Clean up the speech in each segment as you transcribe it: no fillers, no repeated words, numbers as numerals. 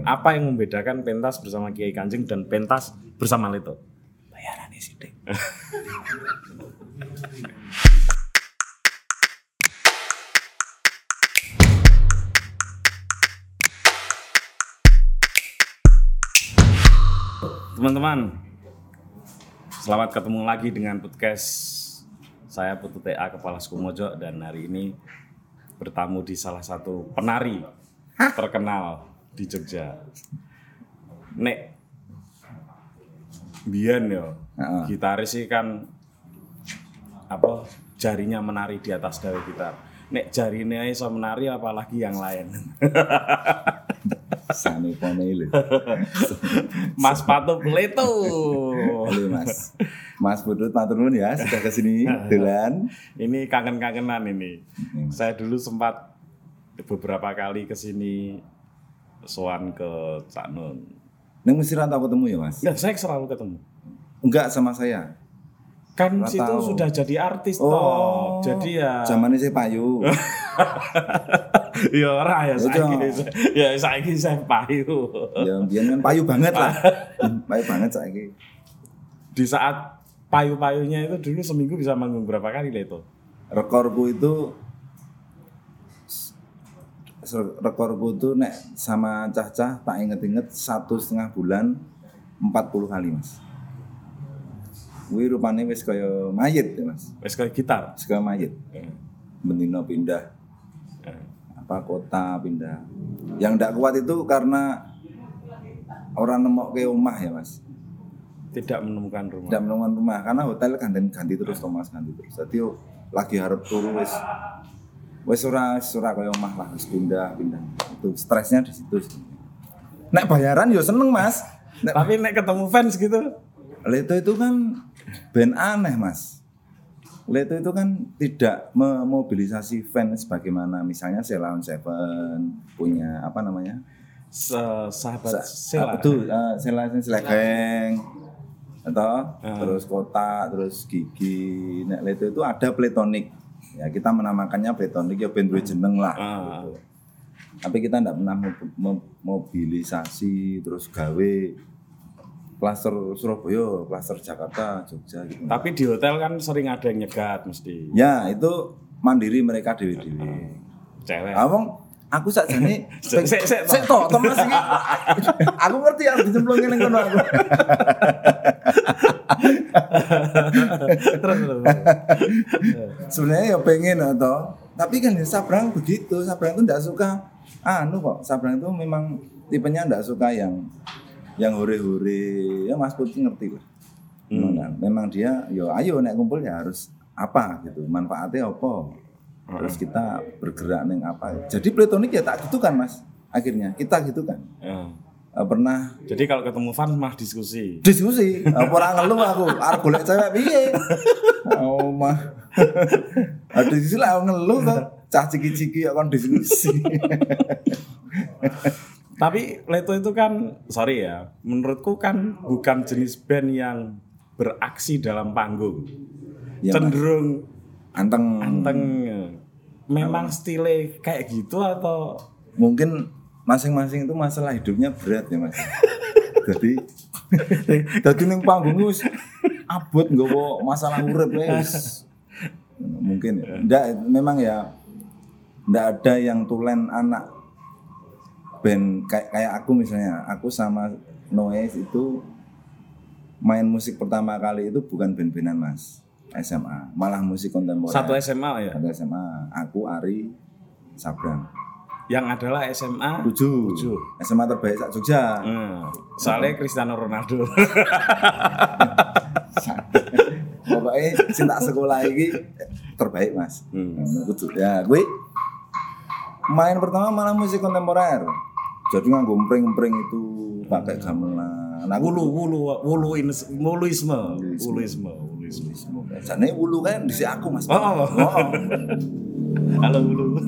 Apa yang membedakan pentas bersama Kiai Kanjeng dan pentas bersama Leto? Bayarannya sithik. Teman-teman, selamat ketemu lagi dengan podcast saya Putu TA Kepala Suku Mojo, dan hari ini bertamu di salah satu penari terkenal di Jogja. Nek Bian yo, gitaris sih kan apa jarinya menari di atas dawe gitar. Nek jarine iso menari apalagi yang lain. Sane pone lho. Mas Patup Leto. Halo Mas Putut matur nuwun ya sudah ke sini dolan. Ini kangen-kangenan ini. Saya dulu sempat beberapa kali ke sini sowan ke Cak Nun. Ning mesti ra tau ketemu ya, Mas? Nah, saya selalu ketemu. Enggak sama saya. Kan Nggak situ tahu. sudah jadi artis Oh, toh. Jadi ya zamane saya payu. ya ora ya Itu. saiki saya payu. Ya biyen kan payu banget lah. Payu banget saiki. Di saat payu-payunya itu dulu seminggu bisa manggung berapa kali Leto? Rekorku itu nek sama cah-cah tak inget-inget 1,5 bulan 40 kali, Mas. Kuwi rupane wis kaya mayit ya, Mas. Wes kayak gitar. Wis kaya mayit. Bendino pindah apa kota pindah. Yang ndak kuat itu karena orang nemokke omah ya, Mas. Tidak menemukan rumah. Tidak menemukan rumah karena hotel ganti terus Thomas ganti terus. Jadi lagi harap turu wis ora kaya omah lah, wis pindah. Itu stresnya di situ. Nek bayaran yo seneng, Mas. Tapi nek ketemu fans gitu, Leto itu kan band aneh, Mas. Leto itu kan tidak memobilisasi fans sebagaimana misalnya Sheila on Seven punya apa namanya? sahabat Sela. Betul, Sheila Geng. Atau terus Kota, terus Gigi. Nek Leto itu ada Platonic. Ya kita menamakannya Platonic ya band duwe jeneng lah. Tapi kita tidak pernah mobilisasi terus gawe klaster Surabaya, klaster Jakarta, Jogja gitu. Tapi di hotel kan sering ada yang nyegat mesti. Ya, itu mandiri mereka dewe-dewe. Cewek. Awang aku sakjane Sik tok Mas iki. Aku ngerti harus dicemplungin ning kono aku. Terus. Sebenarnya ya pengen atau tapi kan Sabrang begitu. Sabrang itu enggak suka kok. Sabrang itu memang tipenya enggak suka yang hore-hore. Ya Mas Putri ngerti lah. Memang dia yo ayo nek kumpul ya harus apa gitu. Manfaatnya apa? Terus kita bergerak neng apa? Jadi Platonic ya tak gitu kan, Mas. Akhirnya kita gitu kan. Pernah Jadi kalau ketemu fans mah diskusi. ora ngeluh aku arep golek cewek piye mah diskusi lah ngeluh to cah ciki-ciki kok kon diskusi. Tapi Leto itu kan, sorry ya, menurutku kan bukan jenis band yang beraksi dalam panggung. Ya, Cenderung anteng. Memang stile kayak gitu atau Mungkin masing-masing itu masalah hidupnya berat ya, Mas. Jadi ning panggung wis abot nggawa masalah urip wis. Mungkin ya. Enggak, memang ya enggak ada yang tulen anak band kayak aku misalnya. Aku sama Noise itu main musik pertama kali itu bukan band-bandan, Mas. SMA, malah musik kontemporer. satu SMA ya? Satu SMA. Aku Ari Sabrang. Yang adalah SMA 7. SMA terbaik sak Jogja. Soalnya Cristiano Ronaldo. Pokoknya cinta sekolah ini terbaik, Mas. Kudu. Ya, gue main pertama malah musik kontemporer. Jadi nganggo empring-empring itu pakai gamelan. Nah, Wuluisme. Jane wulu kan dhisik aku, Mas. Oh. Halo Wulu.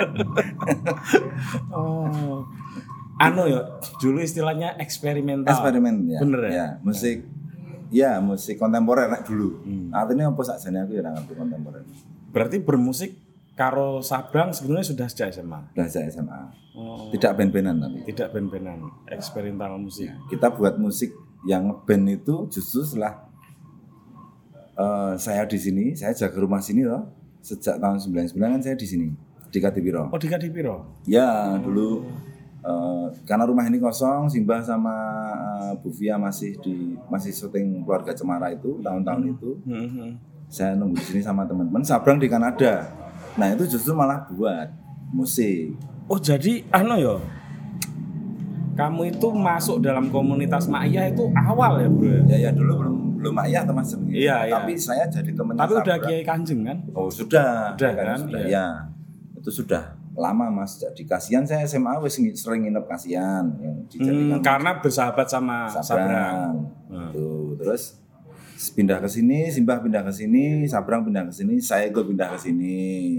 Anu ya, dulu istilahnya eksperimental. Eksperimen ya. Bener ya? Musik kontemporer nek dulu. Artinya apa sakjane aku ya ora ngerti kontemporer. Berarti bermusik karo Sabrang sebenarnya sudah sejak SMA. Udah sejak SMA. Oh, Tidak band-bandan tapi. tidak band-bandan, eksperimental musik. Kita buat musik yang ngeband itu justru setelah saya di sini, saya jaga rumah sini loh. Sejak tahun 99 kan saya di sini, di Kadipiro. Oh, di Kadipiro. Ya, dulu karena rumah ini kosong, Simbah sama Bu Fia masih syuting Keluarga Cemara itu tahun-tahun itu. Saya nunggu di sini sama teman-teman. Sabrang di Kanada. Nah, itu justru malah buat musik. Oh, jadi yo. Kamu itu masuk dalam komunitas Ma'iyah itu awal ya, Bro? Ya dulu belum ayah teman sebenarnya. Iya. Tapi saya jadi temannya Tapi udah Sabrang. Kiai Kanjeng kan? Oh, sudah kan? Sudah, Iya. ya. Itu sudah lama Mas. Jadi kasihan saya SMA wis sering nginep kasihan yang dijadikan Karena bersahabat sama Sabrang. Sabrang. Tuh, terus pindah ke sini, Simbah pindah ke sini, Sabrang pindah ke sini, saya ikut pindah ke sini.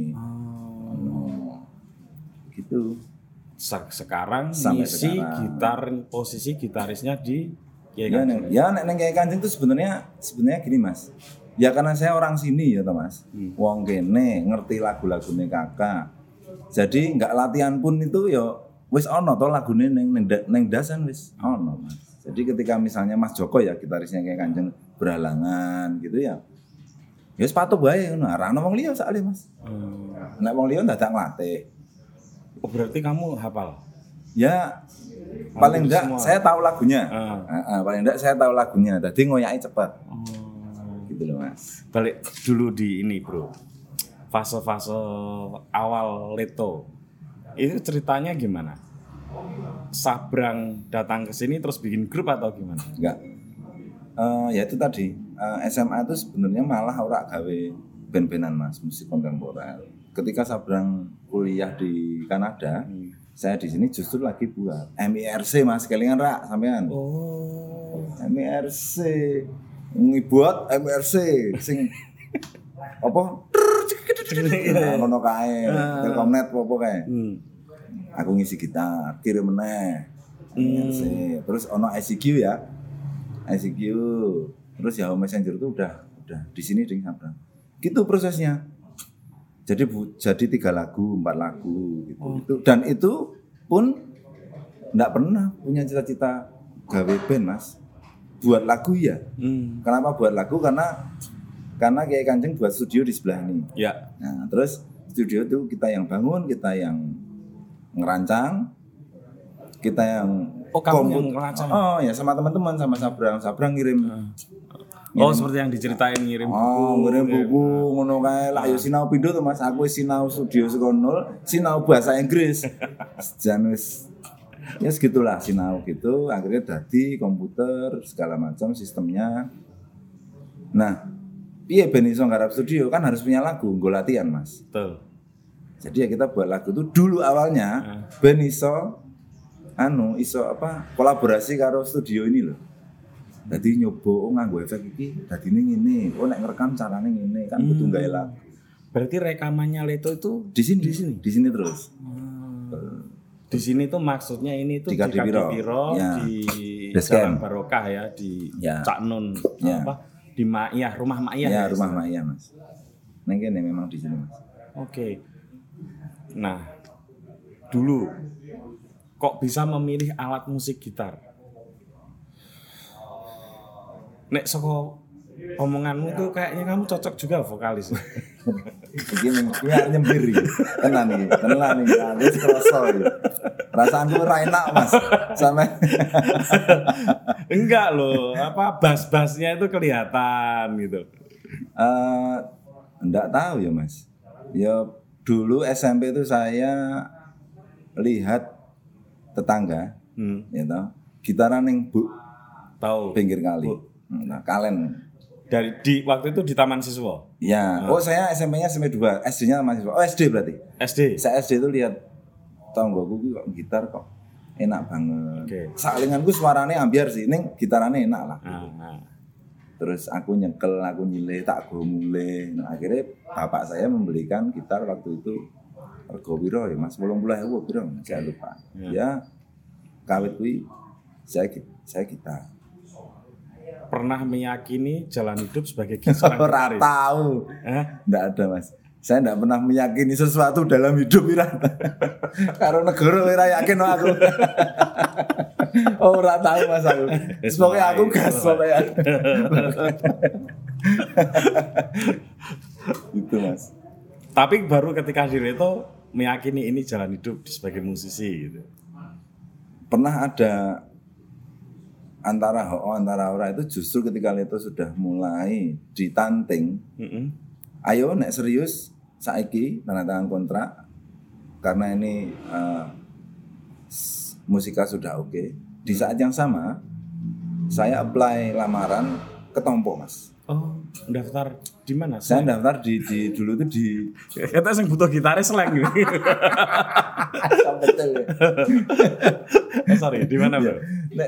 Gitu. Sekarang Sampai ngisi sekarang. posisi gitarisnya di Kiai Ya, Kanjeng. nek Kiai Kanjeng itu sebenarnya gini Mas. Ya karena saya orang sini ya Mas. Wong kene ngerti lagu-lagune Kakak. Jadi nggak latihan pun itu ya wis ono to lagune neng dasan wis ono Mas. Jadi ketika misalnya Mas Joko ya gitarisnya Kiai Kanjeng berhalangan gitu ya. Ya sepatu bae ngono. Ora ono wong liya sakle Mas. Nek wong liya dadak nglatih. Oh, berarti kamu hafal? Ya paling enggak semua. saya tahu lagunya. Ah. Paling enggak saya tahu lagunya. Jadi ngoyaki cepat. Gitu loh Mas. Balik dulu di ini, Bro. Fase-fase awal Leto. Itu ceritanya gimana? Sabrang datang ke sini terus bikin grup atau gimana? Enggak. Ya itu tadi SMA itu sebenarnya malah ora gawe band-bandan Mas, musik kontemporer. Ketika Sabrang kuliah di Kanada, saya di sini justru lagi buat MIRC Mas, kelingan ra sampean. Oh. MIRC. Ngibuat MIRC sing apa? Ngono kae. Telkomnet apa kae. Aku ngisi gitar, kirim meneh. MIRC. Terus ono ICQ ya. ICQ. Terus Yahoo Messenger itu udah di sini dengan Sabrang. Gitu prosesnya. Jadi 3 lagu, 4 lagu gitu. Dan itu pun enggak pernah punya cita-cita gawe band, Mas. Buat lagu ya. Kenapa buat lagu? Karena Kiai Kanjeng buat studio di sebelah ini. Ya. Nah, terus studio itu kita yang bangun, kita yang ngerancang, kita yang kamu yang ngerancang? Oh ya, sama teman-teman, sama Sabrang ngirim. Seperti yang diceritain ngirim buku. Ngirim buku ngono kae. Lah yo sinau pindho to Mas, aku wis sinau studio saka nol, sinau bahasa Inggris. Jan wis ya segitulah sinau gitu, akhirnya dadi komputer segala macam sistemnya. Nah, piye ben iso nggarap studio kan harus punya lagu, nggo latihan Mas. Betul. Jadi ya kita buat lagu itu dulu awalnya ben iso kolaborasi karo studio ini loh. Dadi nyoba nganggo efek iki dadine ngene. Nek ngerekam carane ngene kan butuh gawe lagu. Berarti rekamannya Leto itu Di sini terus. Di sini tuh maksudnya ini tuh Di Kadipiro. Ya. Di Basecamp. Jalan Barokah ya, di Ya. Cak Nun Ya. di Ma'iyah, rumah Ma'iyah. Ya, rumah Maya Mas. Neng kene memang di sini Mas. Oke. Nah, dulu kok bisa memilih alat musik gitar? Nek soko omonganmu tuh kayaknya kamu cocok juga vokalis. Iki nyembiri. Tenan iki. Wis kroso iki. Perasaanku ora enak Mas. Sampai Enggak loh, bass-bassnya itu kelihatan gitu. enggak tahu ya Mas. Ya dulu SMP itu saya lihat tetangga, ya toh, gitaran ning Tahu. pinggir kali. Nah, kalen. Di waktu itu di Taman Siswa. Ya. Saya SMP-nya SMP 2, SD-nya masih. SD berarti. SD. Saya SD itu lihat tonggoku kok gitar kok enak banget. Oke. Salinganku suarane ambiar sih, ning gitarane enak lah. Nah. Terus aku nyekel, aku nyilih, tak go mulih. Nah, akhirnya bapak saya membelikan gitar waktu itu rego piro ya Mas? 80.000 piro? Saya lupa. Ya kawit kuwi saya gitar. Pernah meyakini jalan hidup sebagai seorang Ora gitaris? tahu. Hah? Enggak ada Mas. Saya tidak pernah meyakini sesuatu dalam hidup Wirata. Karo negara ora yakin aku. Oh, ora tahu Mas aku. Pokoknya aku gas pokoknya. Gitu Mas. Tapi baru ketika di Leto meyakini ini jalan hidup sebagai musisi gitu. Pernah ada antara antara ora itu justru ketika Leto sudah mulai ditanting. Ayo nek serius saiki tanda tangan kontrak karena ini musika sudah oke. Di saat yang sama saya apply lamaran ketompo Mas. Oh, daftar di mana? Saya daftar di dulu itu di kita sing butuh gitaris slang gitu. betul. Sorry, di mana, Bro?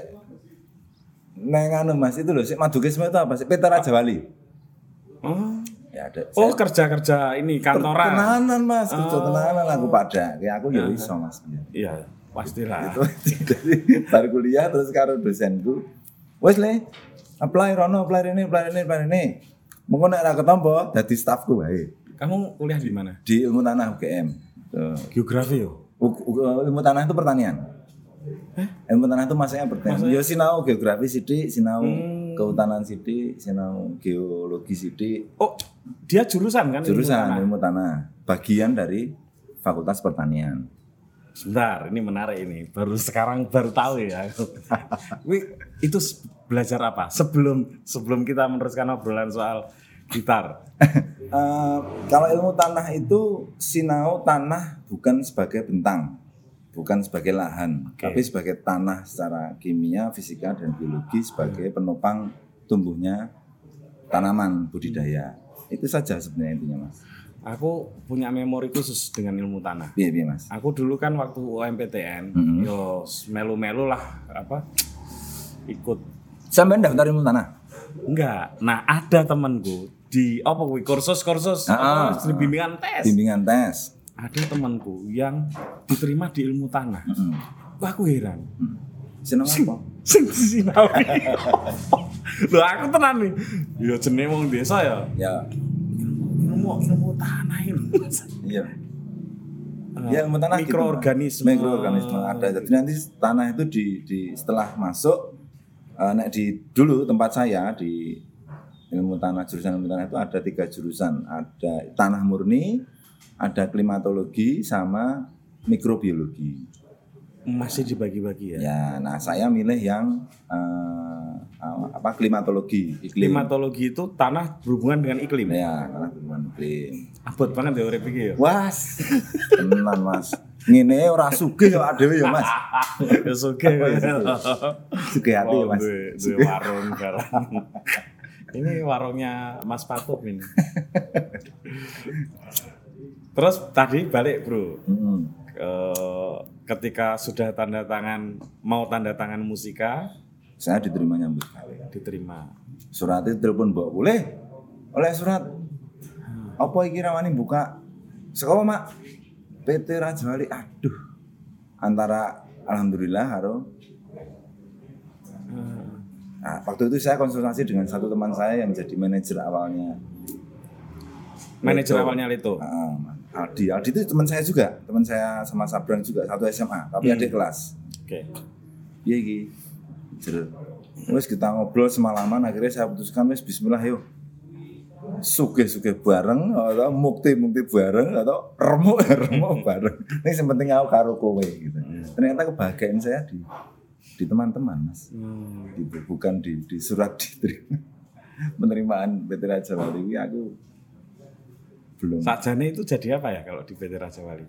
Nek anu Mas itu loh, Madukisme itu apa sih? Peter Rajawali. Oh. Ya ada. Oh, kerja-kerja ini kantoran. Tenanan Mas, kerja tenanan aku pada. Kayak aku ya iso Mas. Iya, pastilah. Itu jadi baru kuliah terus karo dosenku. Wes le, apply rono, apply ini. Mengko nek ora ketompo dadi stafku wae. Kamu kuliah di mana? Di Ilmu Tanah UGM. Tuh. Geografi yo. Ilmu Tanah itu pertanian. Ilmu Tanah itu masuknya pertanian. Ya sinau geografi sithik, sinau kehutanan sithik, sinau geologi sithik. Oh, dia jurusan kan? Jurusan Ilmu Tanah. Bagian dari Fakultas Pertanian. Sebentar, ini menarik ini. Baru tahu ya. Itu belajar apa? Sebelum kita meneruskan obrolan soal gitar. Kalau ilmu tanah itu sinau tanah bukan sebagai bentang, bukan sebagai lahan, tapi sebagai tanah secara kimia, fisika dan biologi sebagai penopang tumbuhnya tanaman budidaya. Itu saja sebenarnya intinya Mas. Aku punya memori khusus dengan ilmu tanah. Iya Mas. Aku dulu kan waktu UMPTN, yo melu-melu lah apa ikut. Sampai daftar ilmu tanah? Enggak. Nah, ada temanku di kursus bimbingan tes. Bimbingan tes. Ada temanku yang diterima di ilmu tanah. Wah, aku heran. Seneng apa? Sinau. Loh, aku tenan nih. Ya jenenge wong desa ya. Ya. Ilmu tanah ini. Iya. Ya, ilmu tanah mikroorganisme. Mikroorganisme ada. Jadi nanti tanah itu di setelah masuk dulu tempat saya di ilmu tanah, jurusan ilmu tanah itu ada 3 jurusan. Ada tanah murni, ada klimatologi sama mikrobiologi. Masih dibagi-bagi ya? Ya, nah saya milih yang klimatologi. Iklim. Klimatologi itu tanah berhubungan dengan iklim. Ya, tanah berhubungan iklim. Abot banget ya urip iki ya. Was. Tenan Mas. Ngene ora sugih kok dhewe ya Mas. Ya sugih. Sugih hati ya Mas. Duwe warung barang. Ini warungnya Mas Patut ini. Terus tadi balik Bro. Ketika sudah mau tanda tangan musika, saya diterima nyambut gawe. Diterima. Surat itu telepon Mbok, oleh surat. Apa iki rawani buka? Sekolah Mak. PT Rajawali. Aduh. Antara alhamdulillah karo Nah, waktu itu saya konsultasi dengan satu teman saya yang menjadi manajer awalnya. Manajer awalnya Leto. Aldi itu teman saya juga, teman saya sama Sabrang juga, satu SMA, tapi adik kelas. Oke. Iya iki. Terus kita ngobrol semalaman, akhirnya saya putuskan wis bismillah yuk. Sugih-sugih bareng atau mukti bareng atau remuk bareng. Ini yang penting aku karo kowe gitu. Ternyata kebahagiaan saya di teman-teman Mas. Gitu, bukan di surat diterima. Penerimaan PT Rajawali aku belum. Sakjane itu jadi apa ya kalau di PT Rajawali?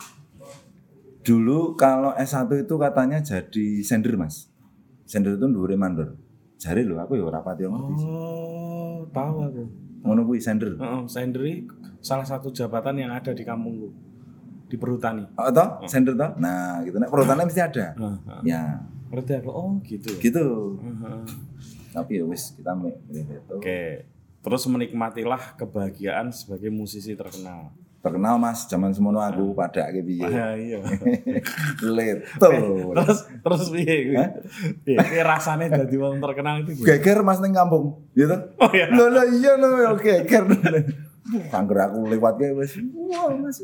Dulu kalau S1 itu katanya jadi sender Mas. Sender itu ndure mandor. Jare lho aku ya ora pati ngerti. Oh, tahu aku. Ngono kuwi sender. Sender salah satu jabatan yang ada di kampungku. Di perhutani. Oh, toh? Sender toh? Nah, gitu. Nek perhutani mesti ada. Ya. Berarti aku gitu. Gitu. Tapi ya wis kita milih itu. Oke. Terus menikmatilah kebahagiaan sebagai musisi terkenal. Terkenal Mas, zaman semono aku padake piye. Iya. Leto. Terus piye? Piye rasane dadi wong terkenal itu? Geger Mas ning kampung, gitu. Oh iya. Lho iya lho geger. Angger aku lewat kae wis wah Mas.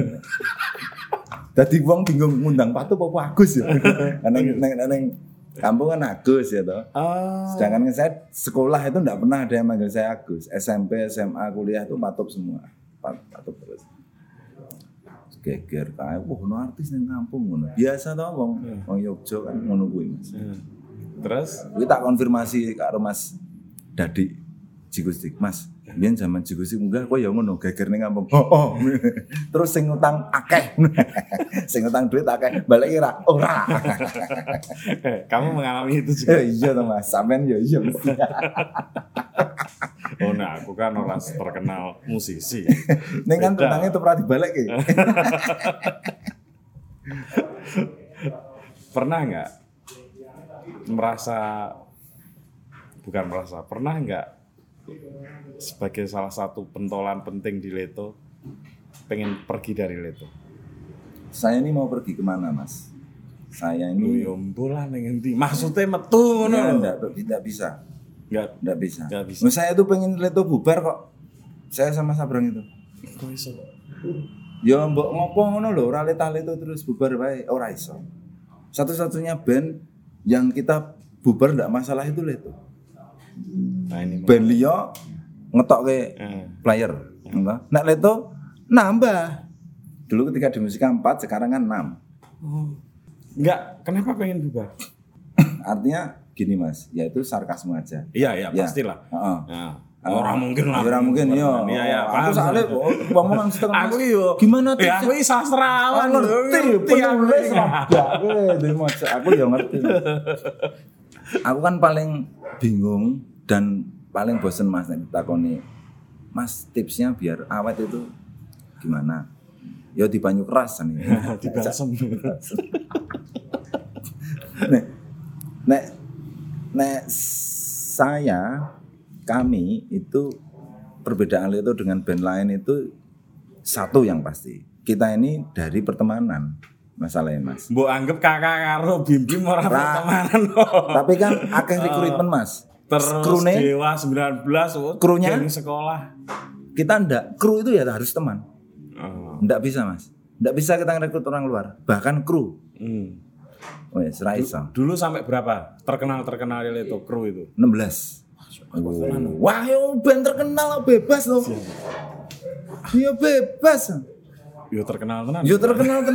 Dadi wong bingung ngundang Patu apa Agus ya. Neng kampung kan Agus ya toh. Sedangkan saya sekolah itu enggak pernah ada yang manggil saya Agus. SMP, SMA, kuliah itu Patup semua. Patup terus. Geger kae, ono artis nang kampung ngono. Biasa toh wong Yogya kan ngono kuwi Mas. Terus kuwi tak konfirmasi karo Mas Dadi Jigustik, Mas. Biyen zaman Jigustik munggah kok ya ngono geger ning kampung. Oh. Terus sing utang akeh. Sing utang duit akeh, balik ora. Ora. Kamu mengalami itu juga? Iya toh Mas, sampean ya iya mesti. Oh nah, aku kan orang terkenal musisi. Ning kan utangnya itu pernah dibalik ki. Pernah nggak pernah nggak sebagai salah satu pentolan penting di Leto pengen pergi dari Leto? Saya ini mau pergi kemana Mas? Saya ini bola ning endi? Maksudnya metu ngono ya, lho. tidak bisa. Enggak bisa. Nah, saya tuh pengen Leto bubar kok. Saya sama Sabrang itu. Kok iso? Ya mbok ngopo ngono lho, ora Leto terus bubar wae, ora iso. Satu-satunya band yang kita bubar ndak masalah itu Leto. Nah, ini band liya ngetokke player. Nek Leto nambah. Dulu ketika di Musika 4, sekarang kan 6. Oh. Enggak, kenapa pengen bubar? Artinya gini Mas, yaitu sarkasme aja. Iya, pastilah. Heeh. Nah, orang mungkin lah. Orang mungkin iya. Iya, aku soalnya ngomong setengah. Aku yo. Gimana tuh? Ya aku iki sastrawan ngerti, penulis aku ya ngerti. Aku kan paling bingung dan paling bosen Mas nek ditakoni. Mas, tipsnya biar awet itu gimana? Ya di banyu keras nih. Di balsem. Nek kami itu perbedaan itu dengan band lain itu satu yang pasti. Kita ini dari pertemanan masalahnya Mas. Mbok anggap kakak karo Bim ora pertemanan. Tapi kan akeh rekrutmen Mas. Terus Krune, Dewa 19 krunya di sekolah. Kita ndak, kru itu ya harus teman. Ndak bisa Mas. Ndak bisa kita ngerekrut orang luar, bahkan kru. Wes ra iso. Dulu sampai berapa? Terkenal itu kru itu. 16. Wah, yo band terkenal bebas loh. Yo bebas. Yo terkenal tenan. Yo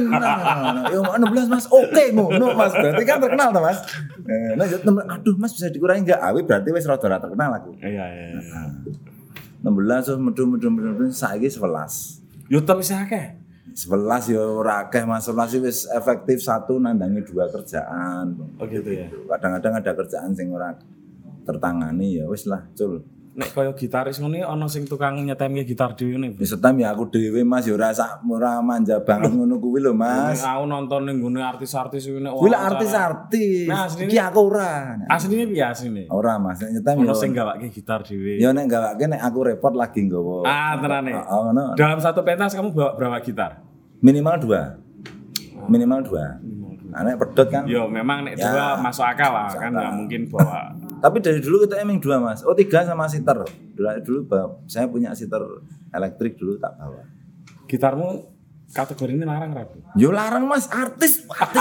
16 Mas. Oke, ngono Mas. Berarti kan terkenal toh Mas. Nah, aduh Mas bisa dikurangi enggak? Berarti wis rada terkenal aku. Iya. 16 terus medhu saiki 11. Yo tapi akeh. 11 ya ora akeh Mas, 11 wis efektif satu nandangi 2 kerjaan. Oh gitu ya. Kadang-kadang ada kerjaan sing ora tertangani ya wis lah, cul. Nek kaya gitaris ngene ana sing tukang nyetemke gitar dhewe ngene. Wis setem ya aku dhewe Mas ya ora manja banget ngono kuwi lho Mas. Aku nonton ning gone artis-artis kuwi nek kuwi lah artis-artis. Iki aku ora. Asline piye asline? Ora Mas, nek nyetem ya. Ono sing gawake gitar dhewe. Ya nek gawake nek aku repot lagi nggawa. Tenane. Ngono. Dalam satu pentas kamu bawa berapa gitar? Minimal 2. Nek pedot kan. Yo memang nek 2 masuk akal lah kan enggak mungkin bawa. Tapi dari dulu kita emang 2 Mas. 3 sama siter. Dulu saya punya siter elektrik dulu tak bawa. Gitarmu kategori ini larang rapi? Yo larang Mas, artis.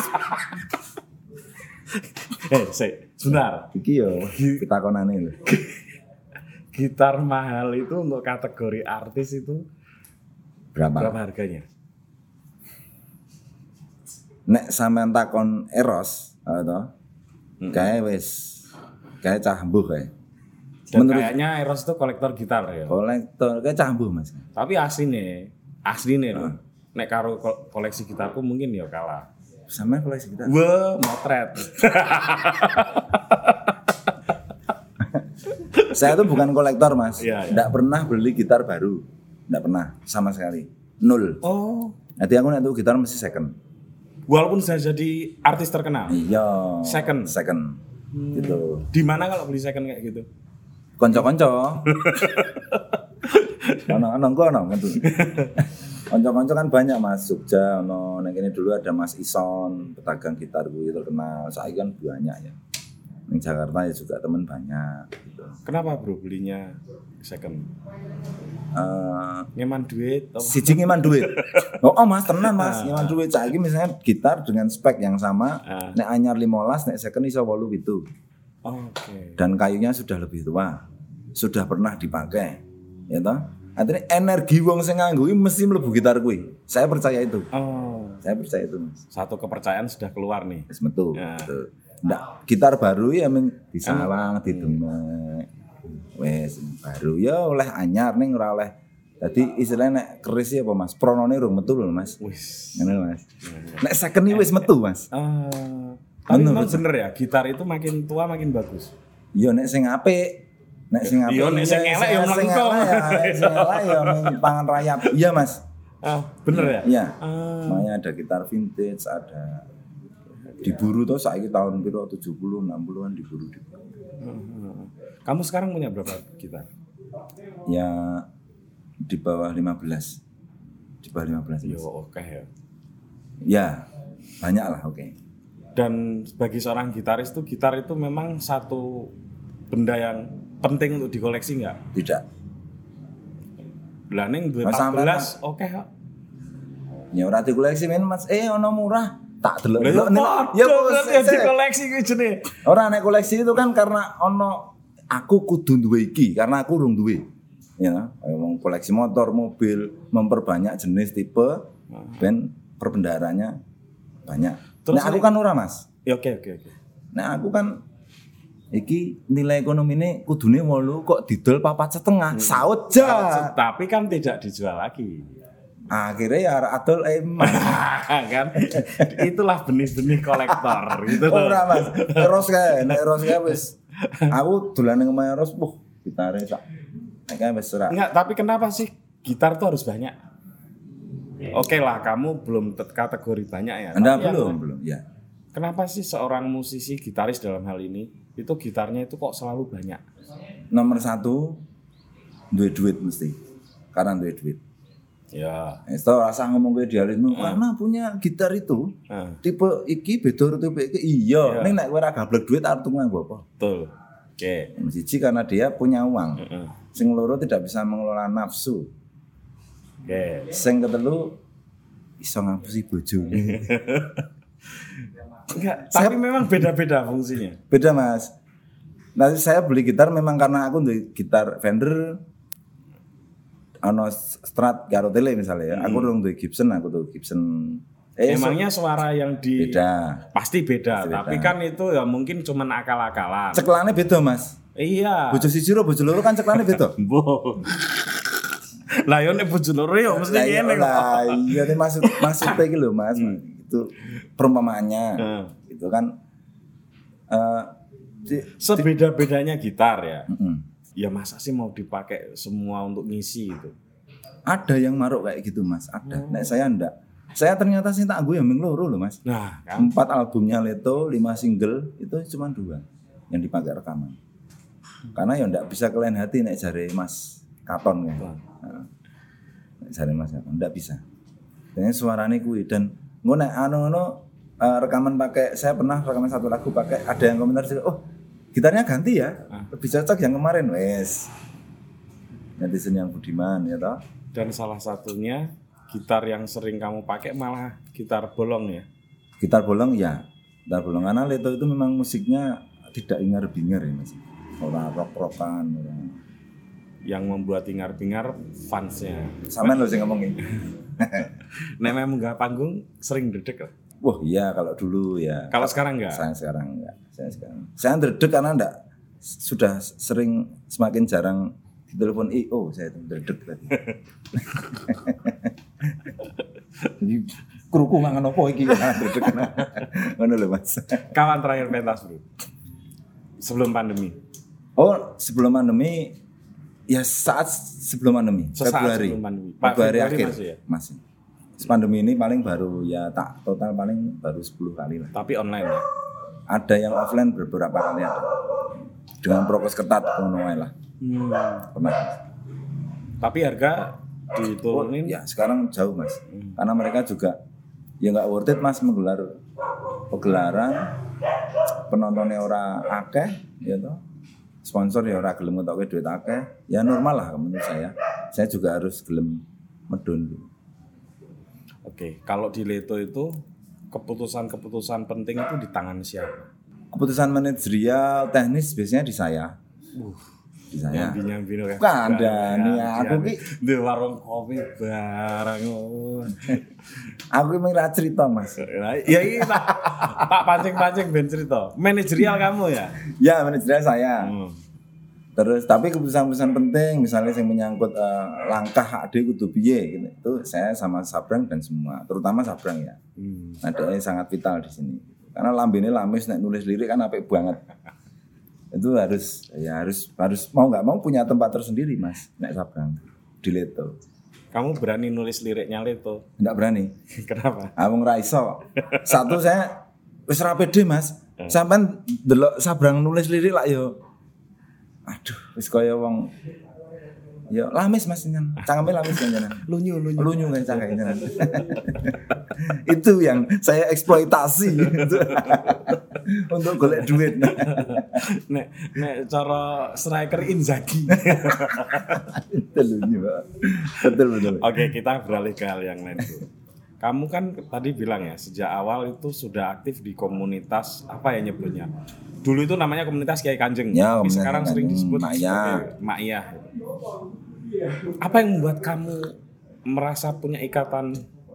Sebentar. Iki yo kita konane lho. Gitar mahal itu untuk kategori artis itu berapa harganya? Nek sampean takon Eros, to. Kayak cambuh kayak. Kayaknya Eros itu kolektor gitar ya. Kolektor kayak cambuh Mas. Tapi asline lho. Nek karo koleksi gitarku mungkin ya kalah. Sama koleksi gitar. Wah, motret. Saya tuh bukan kolektor Mas. Iya. Nggak pernah beli gitar baru. Nggak pernah sama sekali. 0. Oh. Nanti aku nek gitar mesti second. Walaupun saya jadi artis terkenal. Iya. Second. Gitu. Di mana kalau beli second kayak gitu? Konco-konco. Ono gitu. Konco-konco kan banyak Mas, Jogja ono ning kene dulu ada Mas Ison, pedagang gitar kuwi terkenal. Saiki kan banyak ya. Ning Jakarta ya juga teman banyak. gitu. Kenapa bro belinya second? Eh, Ngeman duit? siji ngeman duit. Oh Mas, tenan Mas, ngeman duit. Saiki misalnya gitar dengan spek yang sama, nek anyar 15, nek second iso 8 gitu. Oke. Dan kayunya sudah lebih tua. Sudah pernah dipakai. Ya toh? Artinya energi wong sing nganggo iki mesti mlebu gitar kuwi. Saya percaya itu. Oh, Saya percaya itu, Mas. satu kepercayaan sudah keluar nih. Wis metu. Ya. Gitu. Ndak, gitar baru ya mung disawang, didemek. Wis baru ya oleh anyar ning ora oleh. Dadi istilahnya nek keris ya apa Mas? Pronone rung metu lho Mas. Wis. Ngono Mas. Nek second iki wis metu Mas. Tapi memang bener ya, gitar itu makin tua makin bagus. Iya nek sing apik. Nek sing apik. Iya, nek sing elek ya mlengkung. Sing elek ya pangan rayap. Iya Mas. Bener ya? Iya. Makanya ada gitar vintage, ada diburu tuh saiki tahun piro 70 60-an diburu. Kamu sekarang punya berapa gitar? Ya di bawah 15. Di bawah 15. Yo oke ya. Ya, banyak lah, oke. Dan bagi seorang gitaris tuh gitar itu memang satu benda yang penting untuk dikoleksi nggak? Tidak. Lah ning duwe Mas, sampean, 14 oke kok. Ya ora dikoleksi men Mas. Ono murah. Tak delok. Ya bos, ya dikoleksi kuwi jenenge. Ora nek koleksi itu kan karena ono aku kudu duwe iki karena aku urung duwe. Ya, wong koleksi motor, mobil, memperbanyak jenis tipe ben perbendaharanya banyak. Terus Nek aku kan ora Mas. Ya oke. Nek aku kan iki nilai ekonomine kudune 8 kok didol 4,5. Saut ja. Tapi kan tidak dijual lagi. Akhirnya ya adol emang. Kan itulah benih-benih kolektor gitu. Ora Mas. Ros kae, nek ros kae wis aku dolan nang omahe ros, gitare sak. Nek kae wis ora. Enggak, tapi kenapa sih gitar tuh harus banyak? Oke lah, kamu belum kategori banyak ya. Anda Tapi belum, ya. Kenapa sih seorang musisi gitaris dalam hal ini itu gitarnya itu kok selalu banyak? Nomor 1 duwe duit mesti. Karena duwe duit. Ya. Itu rasa ngomong gue idealisme karena punya gitar itu tipe iki beda tipe iki iya. Ning nek kowe ora gablek duit arep tuku nganggo apa? Betul. Oke. Siji karena dia punya uang. Sing loro tidak bisa mengelola nafsu. Oke. Sing ketelu iso ngapusi bojone. Enggak, tapi memang beda-beda fungsinya. Beda Mas. Nanti saya beli gitar memang karena aku duwe gitar Fender ono Strat karo Tele misalnya ya. Aku dong duwe Gibson, aku tuh Gibson. Emangnya suara yang di beda. Pasti beda, tapi kan itu ya mungkin cuman akal-akalan. Ceklane beda, Mas. Iya. Bojo siji karo bojo loro kan ceklane beda. Lah yo nek bojo loro yo mesti ngene kok. Lah iya nih maksudnya iki lho, Mas. Itu perumpamaannya. Itu kan sebeda-bedanya gitar ya. Ya masa sih mau dipakai semua untuk ngisi itu? Ada yang maruk kayak gitu Mas, ada. Nek saya enggak. Saya ternyata sih tak gue yang loro loh Mas. Nah, kan? 4 albumnya Leto, 5 single itu cuma 2 yang dipakai rekaman. Karena ya enggak bisa ke lain hati nek jare Mas Katon kan. Nek jare Mas Katon enggak bisa. Dan suarane kuwi dan ngono nek rekaman pakai saya pernah rekaman satu lagu pakai ada yang komentar sih, "Oh, gitarnya ganti ya, lebih cocok yang kemarin." Wes. Netizen yang budiman ya toh. Dan salah satunya gitar yang sering kamu pakai malah gitar bolong ya. Gitar bolong ya. Gitar bolong karena Leto itu memang musiknya tidak ingar-bingar ya Mas. Ora rock-rockan ya. Yang membuat ingar-bingar fansnya. Sampean lho sing ngomongin. Nek memang enggak panggung sering dedek lah. Wah iya kalau dulu ya. Kalau sekarang enggak? Saya sekarang enggak. Saya ndredeg karena enggak sudah sering semakin jarang ditelepon IO saya itu ndredeg tadi. Jadi kruku mangan opo iki ndredeg. Ngono lho Mas. Kawan terakhir pentas Bro. Sebelum pandemi. Oh, sebelum pandemi ya saat sebelum pandemi, Februari. Sebelum pandemi. Februari akhir masih ya? Masih. Pandemi ini paling baru ya tak total paling baru 10 kali lah. Tapi online ya? Ada yang offline beberapa kali ada. Dengan prokes ketat ngono wae lah. Pernah. Tapi harga diturunin? Ya sekarang jauh Mas. Karena mereka juga ya nggak worth it Mas menggelar pegelaran penontonnya ora akeh ya toh. sponsor ya ora gelem ngetokke duit akeh, ya normal lah menurut saya. Saya juga harus gelem medun. Oke, kalau di Leto itu keputusan-keputusan penting itu di tangan siapa? Keputusan manajerial teknis biasanya di saya. Di saya. Nyambi kan. Kandani aku ki di warung kopi barang. aku ki mengira cerita, Mas. Ya iya tak pancing-pancing ben cerita. Manajerial kamu ya? Ya, manajerial saya. Terus tapi keputusan-keputusan penting misalnya yang menyangkut langkah ade kudu piye gitu. Itu saya sama Sabrang dan semua, terutama Sabrang ya. Ada yang sangat vital di sini. Karena lambene lamis nek nulis lirik kan apik banget. Itu harus mau nggak mau punya tempat tersendiri, Mas, nek Sabrang di Leto. Kamu berani nulis liriknya Leto? Enggak berani. Kenapa? Wong ra iso. Satu saya wis ra pede, Mas. Sampean delok Sabrang nulis lirik lak yo. Aduh, wis kaya wong ya lamis Mas jenengan. Cangkeme lamis jenengan. Lunyu kan cangkeme jenengan. Itu yang saya eksploitasi untuk golek duit. Nek cara striker Inzaghi. Betul. Oke, kita beralih ke hal yang lain dulu. Kamu kan tadi bilang ya, sejak awal itu sudah aktif di komunitas apa ya nyebutnya? Dulu itu namanya komunitas Kiai Kanjeng, ya, tapi sekarang sering disebut sebagai Ma'iyah. Apa yang membuat kamu merasa punya ikatan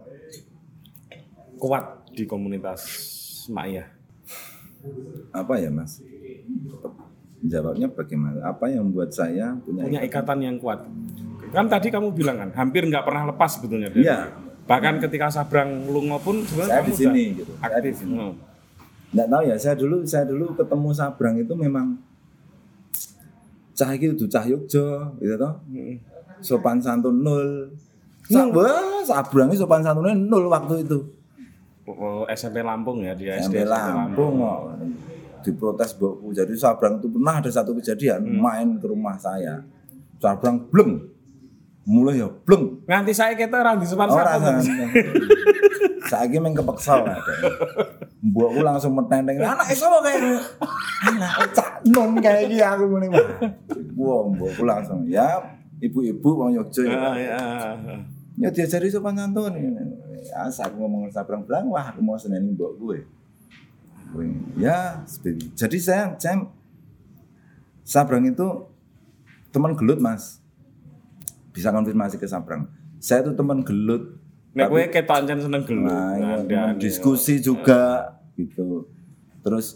kuat di komunitas Ma'iyah? Apa ya, Mas? Jawabnya bagaimana? Apa yang membuat saya punya ikatan yang kuat? Kan tadi kamu bilang kan, hampir nggak pernah lepas sebetulnya. Iya. Bahkan ketika Sabrang lungo pun sebenarnya saya di sini gitu. Aktif. Nggak tahu ya, saya dulu ketemu Sabrang itu memang cah iki kudu cah Yogya gitu toh. Sopan santun nol. Sabrang iki sopan santunnya nol waktu itu. SMP Lampung ya, dia SMP Lampung kok. Diprotes mbokku. Jadi Sabrang itu pernah ada satu kejadian main ke rumah saya. Sabrang bleng. Mulai ya bleng. Nganti saya kita ra di sopan santun. Saiki meng kepeksa ada. Mbokku langsung metenteng. Anak sapa kae? Anak cak nom kae iki aku ngene wae. Wah, mbokku langsung ya ibu-ibu wong Yogya ya. Ya diajari sopan santun. Ya aku ngomong Sabrang bilang, wah aku mau seneni mbokku ya. Ya, jadi saya Sabrang itu teman gelut, Mas. Bisa konfirmasi ke Sabrang. Saya itu teman gelut. Nek kowe ketok ancen seneng gelut. Nah, diskusi juga gitu. Terus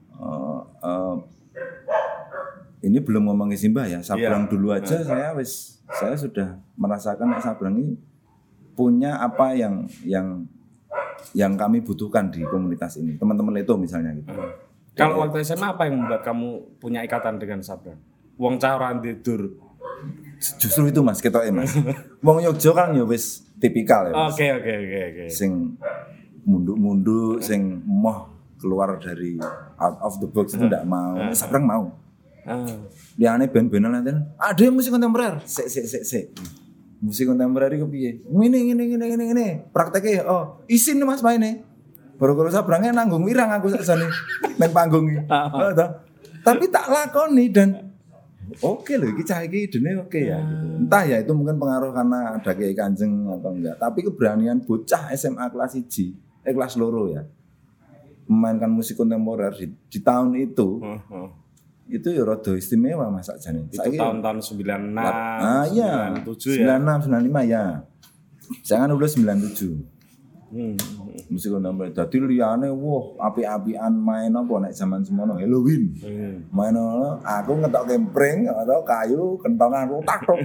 ini belum ngomongin Simbah ya. Sabrang dulu aja saya sudah merasakan Sabrang ini punya apa yang kami butuhkan di komunitas ini. Teman-teman Leto misalnya gitu. Kalau waktu SMA apa yang membuat kamu punya ikatan dengan Sabrang? Wong cah ora tidur. Justru itu Mas, ketoke Mas. Wong Yogya kan ya wis tipikal ya. Oke. Sing munduk-munduk, sing moh keluar dari out of the box itu ndak mau. Sabrang mau. Liane band-bandan nanten, ada musik kontemporer. Sik. Musik kontemporer iki piye? Ngene. Prakteke isin Mas maine. Baru-baru Sabrangnya nanggung wirang aku sakjane nang panggung iki. Tapi tak lakoni dan oke loh, iki cah iki idene oke ya gitu. Entah ya itu mungkin pengaruh karena ada Kiai Kanjeng atau enggak. Tapi keberanian bocah SMA kelas 1, kelas loro ya. Memainkan musik kontemporer di tahun itu. Itu ya rada istimewa Mas sakjane. Itu tahun-tahun 96, iya, 97 ya. 96, 95 ya. Saya kan lulus 97. Musik kontemporer. Dadi liyane apik-apikan main apa nek zaman semono Halloween. Main aku ngetok kempring atau kayu kentongan tak-tok.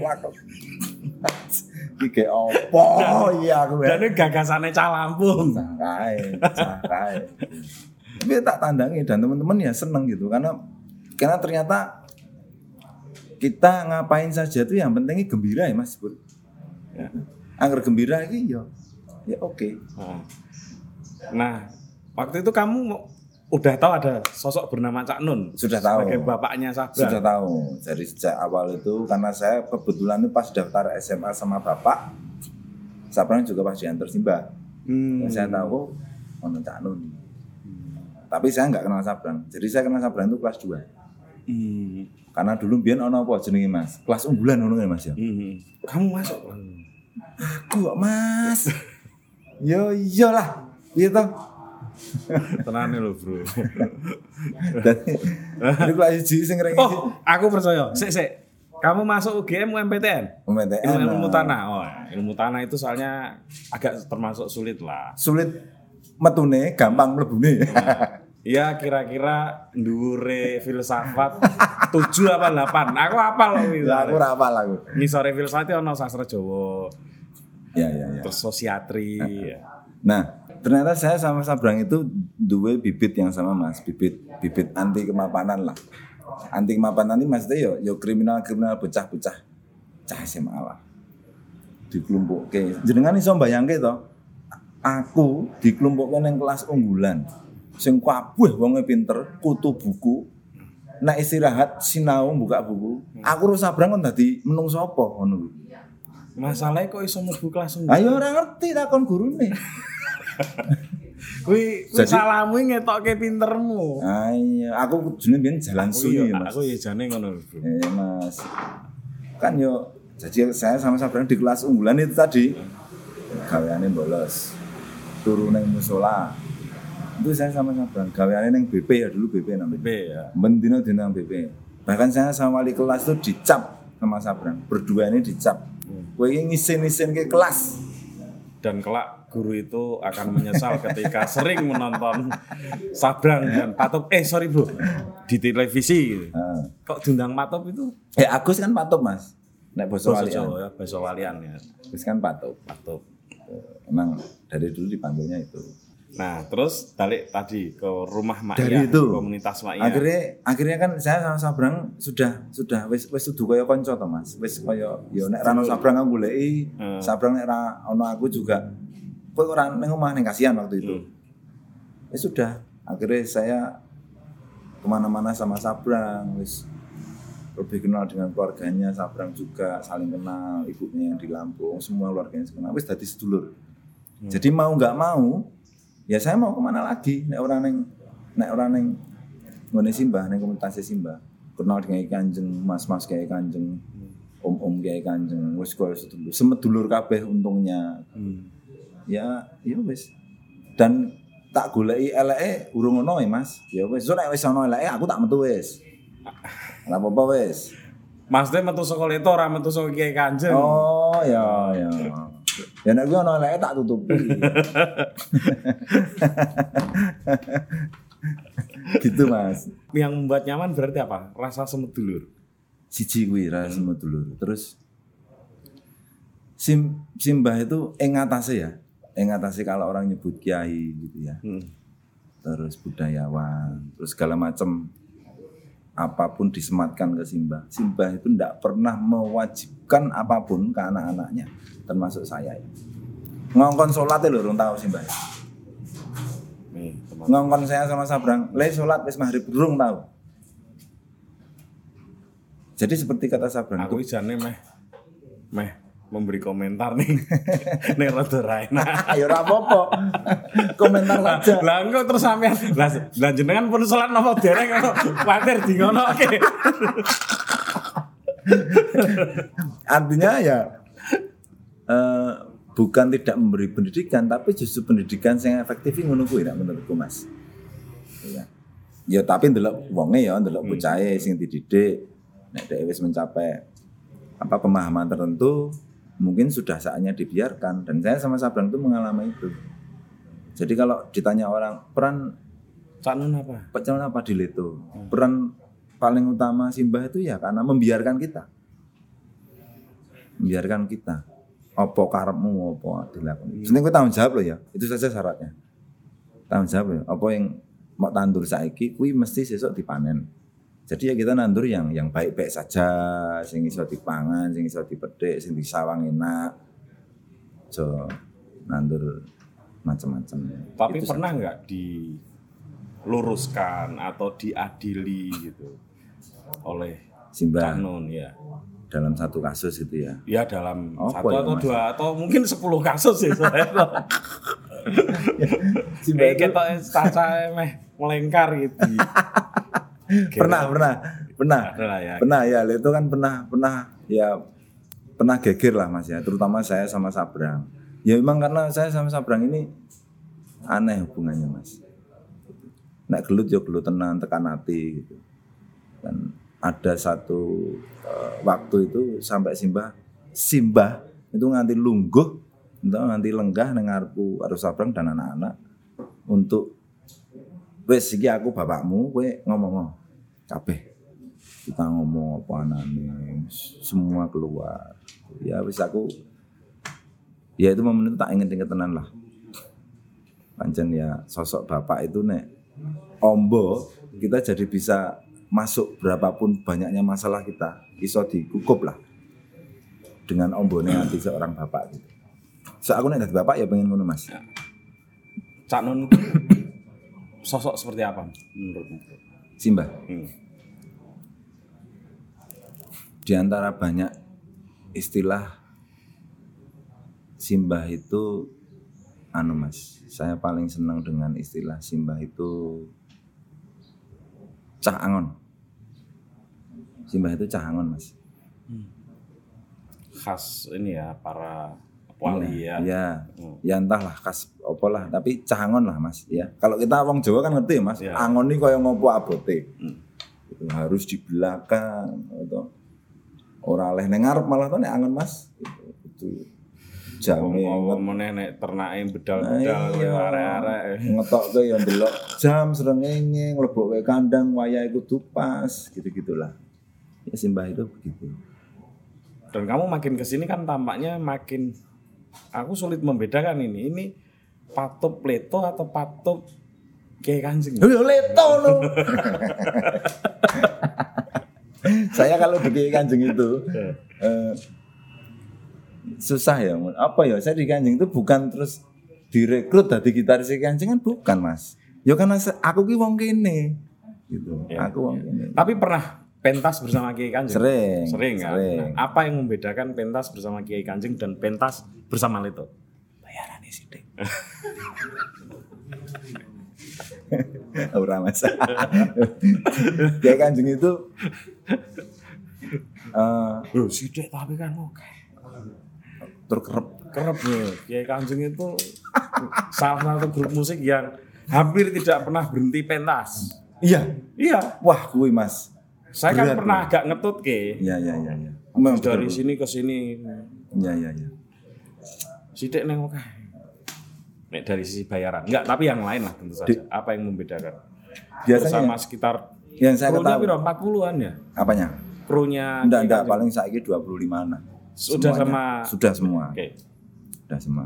Iki opo iya aku. Dan gagasane cah Lampung. Cakai. Tapi tak tandangi dan teman-teman ya seneng gitu karena ternyata kita ngapain saja tuh yang pentingnya gembira ya Mas. Ya. Angger gembira iki ya oke. Nah, waktu itu kamu udah tahu ada sosok bernama Cak Nun? Sudah tahu. Sebagai bapaknya Sabrang. Sudah tahu. Dari sejak awal itu karena saya kebetulan itu pas daftar SMA sama bapak, Sabrang juga pas diantar Simbah. Saya tahu ono Cak Nun. Tapi saya enggak kenal Sabrang. Jadi saya kenal Sabrang itu kelas 2. Karena dulu biyen ana apa jenenge Mas? Kelas unggulan ngono kan Mas ya. Kamu masuk. Aku kok Mas. Yo iyalah. Piye to? Tenane lho, Bro. Jadi kelas 1 sing reng Oh, aku percaya. Sik. Kamu masuk UGM UMPTN? UMPTN. Ilmu tanah. Oh, ilmu tanah itu soalnya agak termasuk sulit lah. Sulit metune, gampang mlebune. Iya, kira-kira ndure filsafat 7 apa 8. Aku hafal loh itu. Lah aku ora hafal aku. Ngisore filsafat ono sastra Jawa. Ya. Terus sosiatri. Nah, ternyata saya sama Sabrang itu duwe bibit yang sama Mas, bibit anti kemapanan lah. Anti kemapanan ini maksudnya yo kriminal bocah-bocah cah SMA lah. Dikelumpukke. Jenengan iso mbayangke to? Aku dikelumpukke ning kelas unggulan. Sing kabeh wonge pinter, kutu buku. Nek istirahat sinau buka buku. Aku karo Sabrang kon dadi menungso apa ngono kuwi. Masalahnya kok iso mlebu kelas Ayo ora ngerti takon gurune. Kuwi salahmu ngetokke pintermu. Ayo, aku jenenge biyen jalan sunyi Mas. Aku ya jane ngono lho, Bro. Mas. Kan yo jadi saya sama Sabrang di kelas unggulan itu tadi gaweane bolos. Turu ning musala. Itu saya sama Sabrang gaweane ning BP ya dulu BP namanya. BP ya. Bendino dina BP. Bahkan saya sama wali kelas tuh dicap sama Sabrang. Berdua ini dicap. Kowe iki ngisin-isin ke kelas. Dan kelak guru itu akan menyesal ketika sering menonton Sabrang dan Patop. Sorry Bro, di televisi gitu. Kok diundang Patop itu? Ya Agus kan Patop Mas. Nek basa walian. Ya, basa walian ya. Agus kan Patop. Emang dari dulu dipanggilnya itu. Nah, terus balik tadi ke rumah Mak Dari itu, komunitas Mak Iya. Akhirnya kan saya sama Sabrang sudah wis dudu kaya kanca to Mas. Wis kaya ya nek ra ono Sabrang aku goleki, Sabrang nek ra ono aku juga. Kowe ora ning omah ning kasihan waktu itu. Ya sudah, akhirnya saya kemana-mana sama Sabrang, wis lebih kenal dengan keluarganya. Sabrang juga saling kenal, ibunya yang di Lampung, semua keluarganya kenal. Wis dadi sedulur. Jadi mau nggak mau, ya saya mau kemana lagi? Nek orang neng ngene Simbah, neng komunitas Simbah. Kenal dengan Kanjeng, mas-mas kayak Kanjeng, om-om kayak Kanjeng, wis koyo sedulur. Semedulur kabeh untungnya. Ya wis. Dan tak goleki eleke urung ono ya Mas. Ya wis, nek wis ono eleke aku tak metu wis. Ora apa-apa wis. Maksudnya metu saka Leto ora metu saka Kiai Kanjeng. Oh, ya. Ya nek kuwi ono eleke tak tutupi. Gitu Mas. Yang membuat nyaman berarti apa? Rasa semedulur. Siji kuwi rasa semedulur. Terus Simbah itu ing atase kalau orang nyebut kiai gitu ya. Terus budayawan, terus segala macam apapun disematkan ke Simbah. Simbah itu tidak pernah mewajibkan apapun ke anak-anaknya, termasuk saya. Ngongkon sholat lho urung tahu Simbah. Ngongkon saya sama Sabrang, le sholat wis maghrib urung tahu. Jadi seperti kata Sabrang, aku jane meh memberi komentar nih. Nek rada ra enak. Ya ora apa-apa. Komentar saja. Lah engko terus sampean lah jenengan pun salat napa dereng kok kuwatir di ngono oke. Artinya ya bukan tidak memberi pendidikan, tapi justru pendidikan yang efektif ngono kuwi nek menurutku Mas. Iya. Ya tapi ndelok wonge ya, ndelok bocahe sing dididik nek dhek wis mencapai pemahaman tertentu, mungkin sudah saatnya dibiarkan. Dan saya sama Sabrang itu mengalami itu. Jadi kalau ditanya orang peran apa di Leto, peran paling utama Simbah itu ya karena membiarkan kita. Apa karepmu apa dilakoni. Sebenarnya kowe tanggung jawab loh ya. Itu saja syaratnya. Tanggung jawab ya. Apa yang mau tandur saiki kuwi mesti sesuk dipanen. Jadi ya kita nandur yang baik-baik saja, sing iso dipangan, sing iso dipetik, sing disawang enak. So nandur macam-macam. Tapi itu pernah nggak diluruskan atau diadili gitu oleh Simbah Nun ya? Dalam satu kasus itu ya? Ya dalam apa satu ya, atau Mas? dua atau mungkin 10 kasus ya. Simbah kayak kita meh melengkar gitu. Pernah. Pernah. Adalah ya. Pernah ya, itu kan pernah geger lah Mas ya, terutama saya sama Sabrang. Ya memang karena saya sama Sabrang ini aneh hubungannya Mas. Nek gelut ya gelut tenan tekan hati gitu. Dan ada satu waktu itu sampai Simbah itu nganti lungguh, nganti lenggah nang ngarepku karo Sabrang dan anak-anak untuk wes iki aku bapakmu, kowe ngomong kabeh. Kita ngomong apa anane, semua keluar. Ya wis aku ya itu momen itu tak inget-inget tenan lah. Pancen ya sosok bapak itu nek ombo kita jadi bisa masuk berapapun banyaknya masalah kita iso dikukup lah dengan ombone hati seorang bapak gitu. So aku nek dadi bapak ya pengen ngono Mas. Cak Nun sosok seperti apa menurutmu? Simbah. Di antara banyak istilah Simbah itu Mas, saya paling senang dengan istilah Simbah itu cah angon. Simbah itu cah angon Mas. Khas ini ya para wali ya. Ya entahlah khas apa lah, tapi cah angon lah Mas ya. Kalau kita wong Jawa kan ngerti Mas, ya. Angon ini kaya ngopo abote. Itu harus di belakang atau ora oleh nang ngarep malah to nek angon Mas. Itu jame meneh nek ternake bedal-bedal arek-arek ngetokke ya ndelok jam srengenge mlebokke kandang wayahe kudu pas gitu-gitulah. Ya Simbah itu begitu. Dan kamu makin kesini kan tampaknya makin aku sulit membedakan ini Patup Leto atau Patup Kiai Kanjeng. Yo Leto lo. Saya kalau di Kiai Kanjeng itu susah ya. Apa ya? Saya di Kanjeng itu bukan terus direkrut dari gitaris Kiai Kanjeng kan bukan Mas. Ya karena aku ki wong kene gitu. Ya, aku wong kene. Tapi pernah pentas bersama Kiai Kanjeng? Sering kan? Nah, apa yang membedakan pentas bersama Kiai Kanjeng dan pentas bersama Leto? Bayarannya sithik. Ora Mas. Kiai Kanjeng itu sithik tapi kan oke. Terkerep ya. Kiai Kanjeng itu salah satu grup musik yang hampir tidak pernah berhenti pentas. Iya. Wah, kuwi Mas. Saya kan pernah agak ngetut ke. Iya. Dari sini ke sini. Iya. Sithik neng oke. Nek dari sisi bayaran. Enggak, tapi yang lain lah tentu saja. Apa yang membedakan? Biasanya bersama sekitar yang saya ketahui 40-an ya? Apanya? Krunya enggak paling saiki 25-an. Sudah semua. Oke. Sudah semua.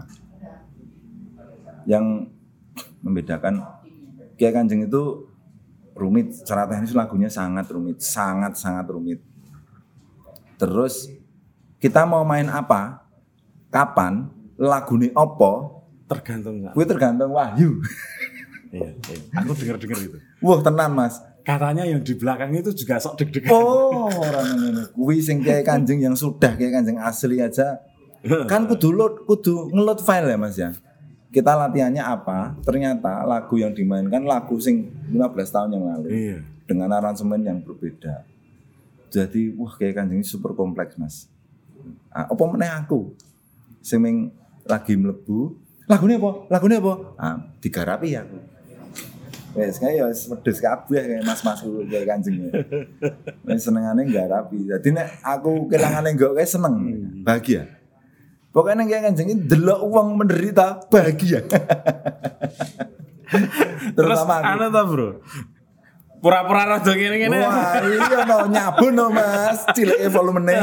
Yang membedakan Kiai Kanjeng itu rumit, secara teknis lagunya sangat rumit, sangat rumit. Terus kita mau main apa, kapan, lagune opo, tergantung Wahyu. Iya. Aku dengar itu. Wah tenan Mas. Katanya yang di belakang itu juga sok deg-degan. Oh, orang ini. Kuwi sing Kiai Kanjeng yang sudah Kiai Kanjeng asli aja. Kan kudu ngeload file ya Mas ya. Kita latihannya apa? Ternyata lagu yang dimainkan lagu sing 15 tahun yang lalu. Iya. Dengan aransemen yang berbeda. Jadi, wah Kiai Kanjeng ini super kompleks Mas. Apa meneh aku? Sing lagi mlebu, lagune apa? Digarapi ya aku. Wes kaya wis wedhus kabeh kaya mas-masku Kiai Kanjeng. Wis senengane nggarapi. Dadi nek aku kelangane nggokke seneng, bahagia. Pokoknya Kiai Kanjeng iki delok wong menderita bahagia. Terutama anu ta, Bro. Pura-pura rada ngene-ngene. Wah, iya no nyabun no Mas, cileke volumene.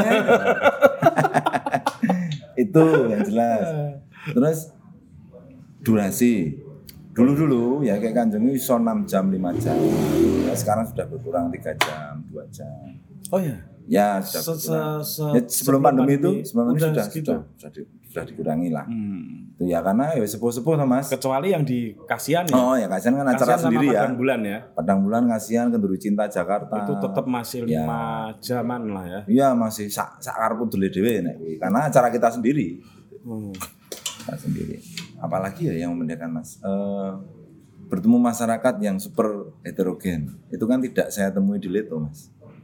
Itu yang jelas. Terus durasi. Dulu ya Kiai Kanjeng itu iso 6 jam, 5 jam. Nah, sekarang sudah berkurang 3 jam, 2 jam. Oh ya? Ya, sudah sebelum pandemi itu sudah dikurangi lah. Itu ya karena ya sepuh-sepuh Mas. Kecuali yang di Kasihan ya. Oh ya Kasihan kan acara sendiri ya. Padang Bulan ya. Padang Bulan Kasihan Kenduri Cinta Jakarta. Itu tetap masih 5 jaman lah ya. Iya masih sak karepku dhewe nek kuwi. Karena acara kita sendiri. Kita sendiri. Apalagi ya yang membedakan Mas. Bertemu masyarakat yang super heterogen. Itu kan tidak saya temui di Leto Mas.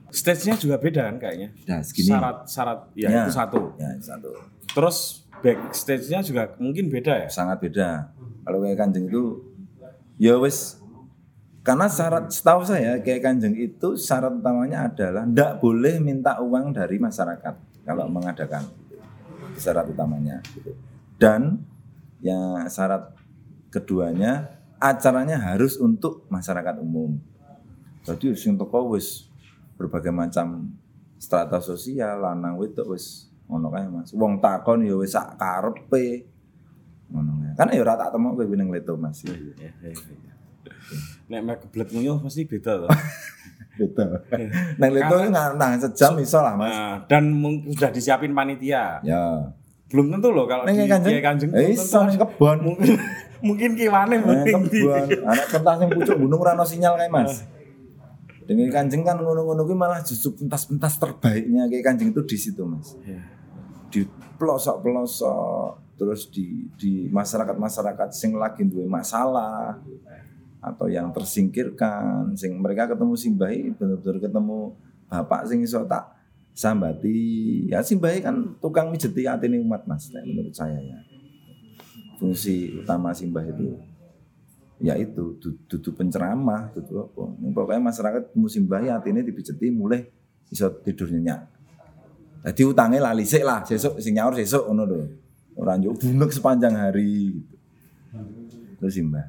Stage-nya juga beda kan kayaknya. Nah, segini. Syarat ya, itu satu. Ya, satu. Terus backstage-nya juga mungkin beda ya? Sangat beda. Kalau kayak Kanjeng itu ya wis, karena syarat setahu saya kayak Kanjeng itu syarat utamanya adalah ndak boleh minta uang dari masyarakat kalau mengadakan. Itu syarat utamanya gitu. Dan ya syarat keduanya acaranya harus untuk masyarakat umum. Jadi sing teko wis berbagai macam strata sosial, lanang wedok wis ngono kae Mas. Wong takon ya wis sak karepe. Ngono kae. Kan ya ora tak temok kowe ning Leto Mas. Iya. Nek mek geblet nguyuh pasti beda to. Beda. Nang Leto nang sejam iso lah Mas. Nah, dan sudah disiapin panitia. Ya. Belum tentu loh kalau di Kanjeng. Iso ning kebon. Mungkin kiwane mending di anak pentas yang pucuk gunung rano sinyal kayak Mas. Dengan Kanjeng kan ngono-ngono kuwi malah justru pentas-pentas terbaiknya kayak Kanjeng itu di situ Mas. Di pelosok-pelosok, terus di masyarakat-masyarakat sing lagi duwe masalah atau yang tersingkirkan, sing mereka ketemu Simbahi bener-bener ketemu bapak sing iso tak sambati. Ya Simbahi kan tukang mijeti atine umat Mas, menurut saya ya. Fungsi utama Simbah itu ya itu dudu penceramah, dudu apa. Pokoknya masyarakat musim bayi atine dipijeti mulai iso tidur nyenyak. Dadi utange lali sik lah, sesuk sing nyaur sesuk ngono lho. Ora njuk bunek sepanjang hari gitu. Terus Simbah.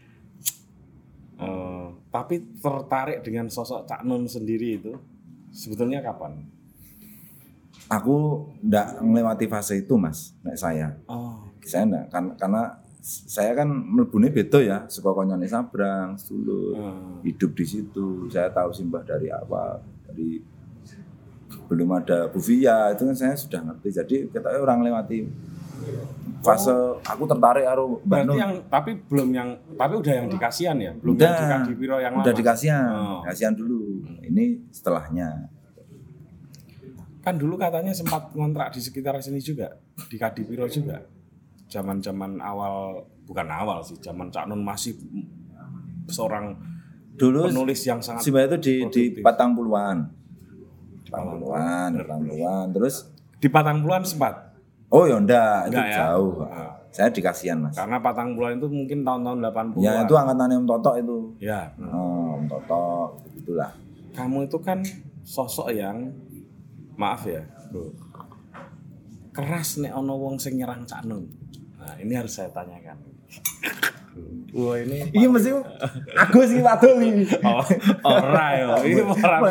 Tapi tertarik dengan sosok Cak Nun sendiri itu sebetulnya kapan? Aku ndak melewati fase itu Mas, nek saya. Saya enggak, karena saya kan mlebune beda ya, saka konyone Sabrang, sedulur, hidup di situ. Saya tahu Simbah dari awal, dari belum ada Bu Via, itu kan saya sudah ngerti. Jadi katanya orang lewati fase aku tertarik karo Mbak Nun. Tapi udah yang dikasihan ya, belum udah, yang di Kadipiro yang lama. Udah dikasihan, kasihan dulu. Ini setelahnya. Kan dulu katanya sempat ngontrak di sekitar sini juga, di Kadipiro juga. Zaman-zaman awal, bukan awal sih, zaman Cak Nun masih seorang dulu penulis yang sangat Simbah itu di Patang Puluhan. Terus di Patang Puluhan sempat. Oh ya enggak itu ya? Jauh. Saya di Kasihan Mas. Karena Patang Puluhan itu mungkin tahun-tahun 80-an. Ya itu angkatannya Om Toto itu. Ya. Om Toto itulah. Kamu itu kan sosok yang maaf ya, Bro. Keras nek ono wong sing nyerang Cak Nun. Nah, ini harus saya tanyakan. Wah, ini mesti aku sing wadul iki. Ora yo, ini ora.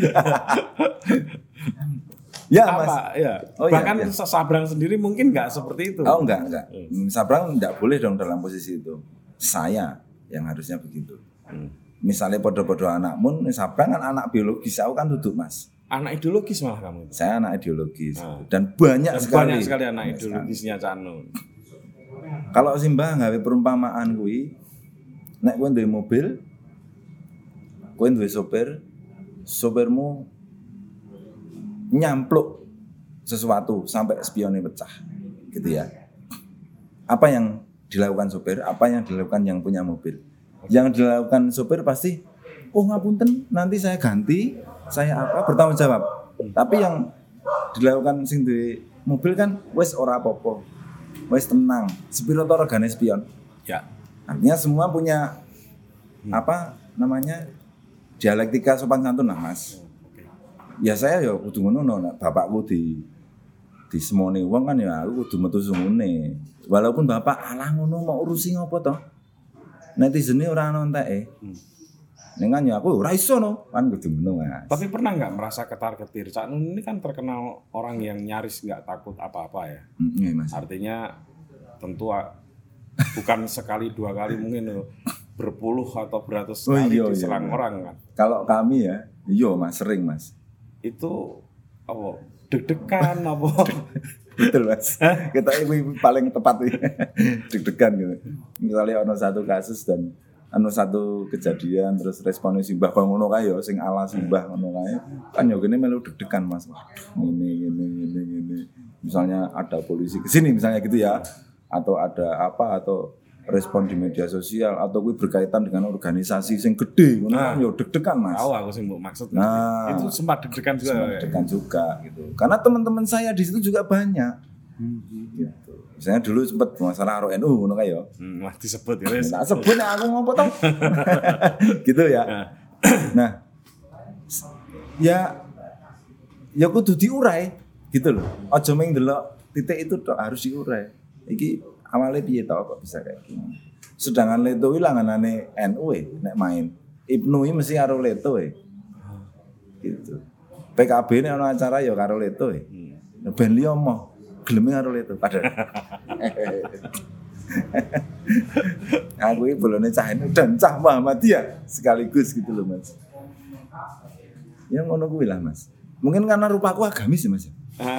Ya, apa? Mas. Ya. Bahkan Sabrang sendiri mungkin enggak seperti itu. Oh, enggak. Sabrang enggak boleh dong dalam posisi itu. Saya yang harusnya begitu. Misalnya podo-podo anakmu, Sabrang kan anak biologis, aku kan duduk Mas. Anak ideologis malah kamu. Saya anak ideologis. Dan banyak sekali anak ideologisnya Cak Nun. Kalau Simbah nggawe perumpamaan kuwi, nek kowe duwe mobil, kowe duwe sopirmu nyampluk sesuatu sampai spionnya pecah. Gitu ya. Apa yang dilakukan sopir, apa yang dilakukan yang punya mobil? Yang dilakukan sopir pasti, oh ngapunten, nanti saya ganti, saya bertanggung jawab. Tapi yang dilakukan sing duwe mobil kan wis ora apa-apa. Wis tenang, sepiro to regane spion. Ya. Artinya semua punya dialektika sopan santun lah Mas. Ya saya ya kudu ngono, bapakku di semone wong kan ya aku kudu metu sungune. Walaupun bapak alah ngono mau urusi ngopo to? Netizene ora ono enteke. Ning kan ya aku ora iso no, kan kudu ngono Mas. Tapi pernah enggak merasa ketar-ketir? Cak Nun ini kan terkenal orang yang nyaris enggak takut apa-apa ya. Iya Mas. Artinya tentu bukan sekali dua kali mungkin berpuluh atau beratus kali diserang orang kan. Kalau kami ya, Mas sering Mas. Itu apa? Deg-degan apa? Betul Mas. Kita ini paling tepat deg-degan gitu. Misalnya ono satu kasus dan satu kejadian terus responnya Simbah kok ngono kae ya sing ala Simbah ngono kae kan ya kene melu deg-degan Mas. Ini. Misalnya ada polisi ke sini misalnya gitu ya. Atau ada apa atau respon di media sosial atau kuwi berkaitan dengan organisasi sing gede ngono kan yo deg-degan Mas. Tahu aku sing mbok maksud. Nah, itu sempat deg-degan juga. deg-degan juga gitu. Karena teman-teman saya di situ juga banyak. Gitu. Misalnya dulu sempat masalah RNU ngono kae yo. Wah disebut ya wis. Tak sebut nek aku ngopo to. Gitu ya. Nah, ya kudu diurai gitu loh. Aja mung ndelok titik itu tok, harus diurai. Iki awalnya piye tau kok bisa kayak gini. Sedangkan Leto kuwi langanane NU nek main. Ibnu iki mesti karo Leto gitu. PKB nek ana acara ya karo Leto Ben liya moh geleme karo Leto padahal. Aku iki bolone cah NU dan cah Muhammadiyah sekaligus gitu loh Mas. Ya ngono kuwi lah Mas. Mungkin karena rupaku agamis ya Mas.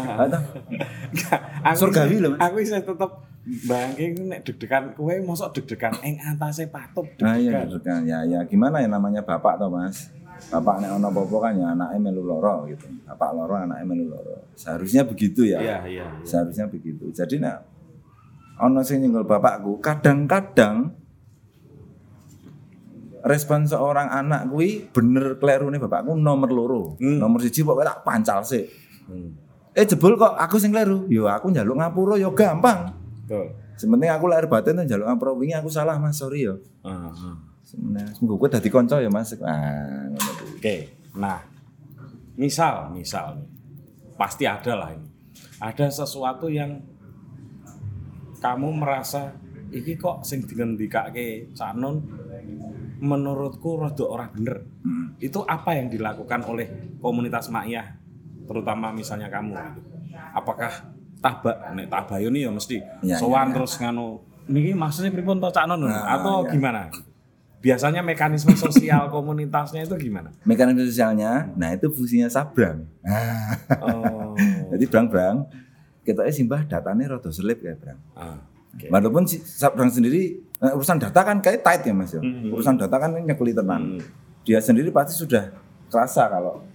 Surgawi lho Mas. Aku bisa tetep bangke nek deg-degan kowe mosok deg-degan ing antase patup deg-degan. Nah, iya deg-degan. Ya gimana ya namanya bapak toh Mas. Bapak nek ana apa-apa kan ya anake melu lara gitu. Bapak lara anake melu lara. Seharusnya begitu ya. Iya. Seharusnya begitu. Jadi nek ana sing nyenggol bapakku, kadang-kadang respon seorang anak kuwi bener klerune bapakku nomor loro. Nomor 1 pokoke tak pancal sik. Jebul kok aku sing kleru. Yo aku njaluk ngapura yo gampang. Betul. Sementing aku lahir batin njaluk ngapura wingi aku salah Mas, sorry yo. Sebenarnya semoga kowe dadi kanca ya Mas. Ngono kuwi. Oke. Nah, misal pasti ada lah ini. Ada sesuatu yang kamu merasa iki kok sing dingendikake Cak Nun menurutku rada ora bener. Itu apa yang dilakukan oleh komunitas Maiyah terutama misalnya kamu gitu. Apakah nek tabayun ya mesti sowan terus nganu niki maksudnya pripun to Cak Nun atau gimana? Biasanya mekanisme sosial komunitasnya itu gimana? Mekanisme sosialnya, nah itu fungsinya Sabrang. Jadi Brang, ketoknya simbah datanya rada selip ya Brang. Okay. Walaupun si Sabrang sendiri urusan data kan kayak tight ya Mas ya. Urusan data kan nyekeli tenan. Dia sendiri pasti sudah kerasa kalau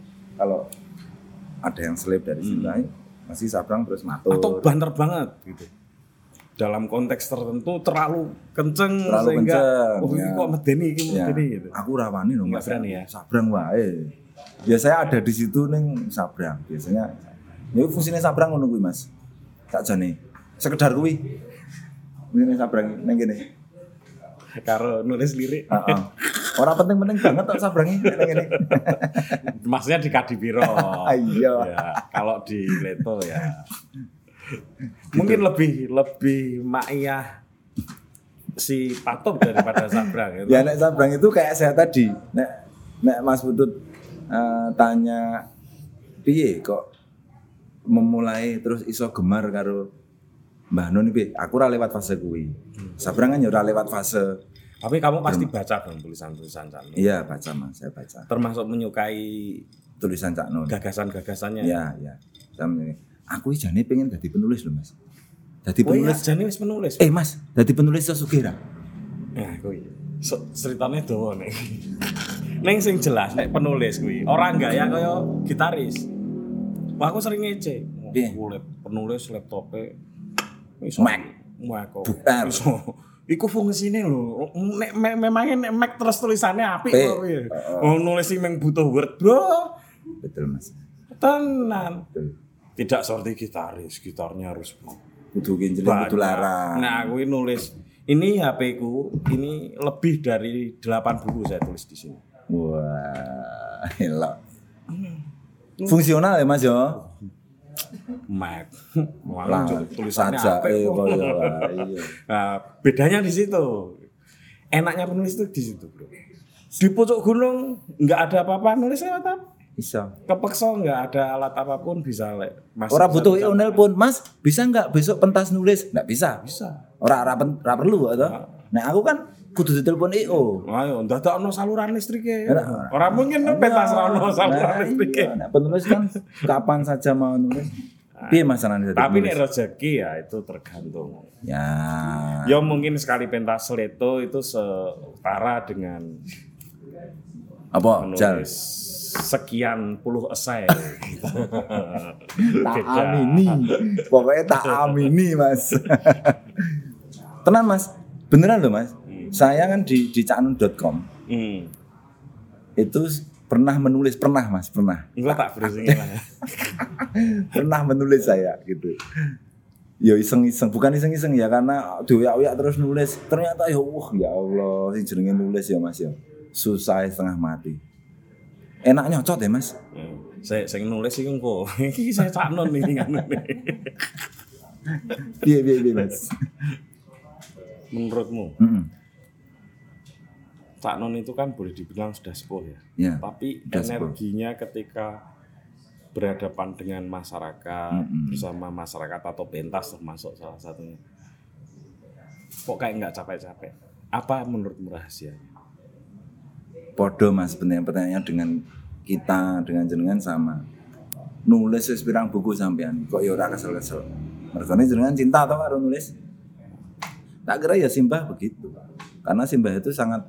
ada yang selip dari simbah, masih Sabrang terus matur. Atau banter banget gitu. Dalam konteks tertentu terlalu kenceng sehingga kok medeni gitu. Aku rawani lho Mas. Berani ya. Sabrang wae. Biasanya ada di situ ning Sabrang. Biasanya ya fungsinya Sabrang ngono kuwi Mas. Tak jane. Sekedar kuwi. Ini Sabrang ning kene. Karo nulis lirik. Heeh. Ora penting-penting banget tok Sabrangi ning kene. Maksudnya di Kadipiro. Iya. Ya, kalau di Leto ya. Mungkin lebih Maiyah si Patup daripada Sabrang gitu. Ya nek Sabrang itu kayak saya tadi. Nek Mas Putut tanya piye kok memulai terus iso gemar karo Mbah Nun piye? Aku ora lewat fase kuwi. Sabrang kan ya ora lewat fase. Tapi kamu pasti baca dong tulisan-tulisan Cak Nun. Iya, baca Mas, saya baca. Termasuk menyukai tulisan Cak Nun. Gagasan-gagasannya. Iya. Aku jane pengen dadi penulis lho Mas. Dadi penulis. Oh iya, jane wis penulis. Mas, dadi penulis sesugih ra? Nah, kuwi. Ceritane dawa nek. Ning sing jelas nek penulis kuwi ora gaya kaya gitaris. Wah, aku sering ngece. Penulis laptope iso Mac kok. Iku fungsine lho. Nek memangnya nek Mac terus tulisannya apik kok piye. Nulis sing mung butuh Word, Bro. Betul Mas. Tenan. Tidak seperti gitaris, gitarnya harus kudu genjleng kudu larang. Nah, aku nulis. Ini HP ku, ini lebih dari 8 buku saya tulis di sini. Wah, elok. Fungsional ya Mas yo. Mac. Tulisannya apa iya. Nah, bedanya di situ. Enaknya penulis itu di situ, Bro. Di pucuk gunung enggak ada apa-apa, nulis lewat apa? Bisa. Kepeksa enggak ada alat apapun bisa Orang butuh email pun, Mas, bisa enggak besok pentas nulis? Enggak bisa. Bisa. Orang perlu atau? Nah, aku kan kudu ditelepon EO. Ayo, ndadekno saluran listrike. Ora mungkin pentas ono saluran listrike. Nek penulis kan kapan saja mau nulis. Piye masalahnya tadi? Tapi nek rezeki ya itu tergantung. Ya. Ya mungkin sekali pentas Leto itu setara dengan apa? Menulis sekian puluh esai. Tak amini. Pokoknya tak amini, Mas. Tenan, Mas. Beneran loh Mas. Saya kan di caknun.com itu pernah menulis, pernah. Enggak tak browsing lah. Pernah menulis saya gitu. Ya iseng-iseng, bukan iseng-iseng ya karena dioyak-oyak terus nulis. Ternyata ya Allah, sing jenenge nulis ya Mas ya. Susah setengah mati. Enak nyocot ya Mas. Saya nulis iki engko. Iki saya Caknun iki ngene. Piye Mas. Menurutmu? Caknun itu kan boleh dibilang sudah sepuh ya. Tapi energinya ketika berhadapan dengan masyarakat, bersama masyarakat atau pentas termasuk salah satunya, kok kayak nggak capek-capek? Apa menurutmu rahasianya? Podo Mas, pertanyaannya dengan kita, dengan jenengan sama. Nulis wis pirang buku sampean, kok ya ora kesel-kesel. Mergane jenengan cinta atau karo nulis? Tak kira ya Simbah begitu. Karena Simbah itu sangat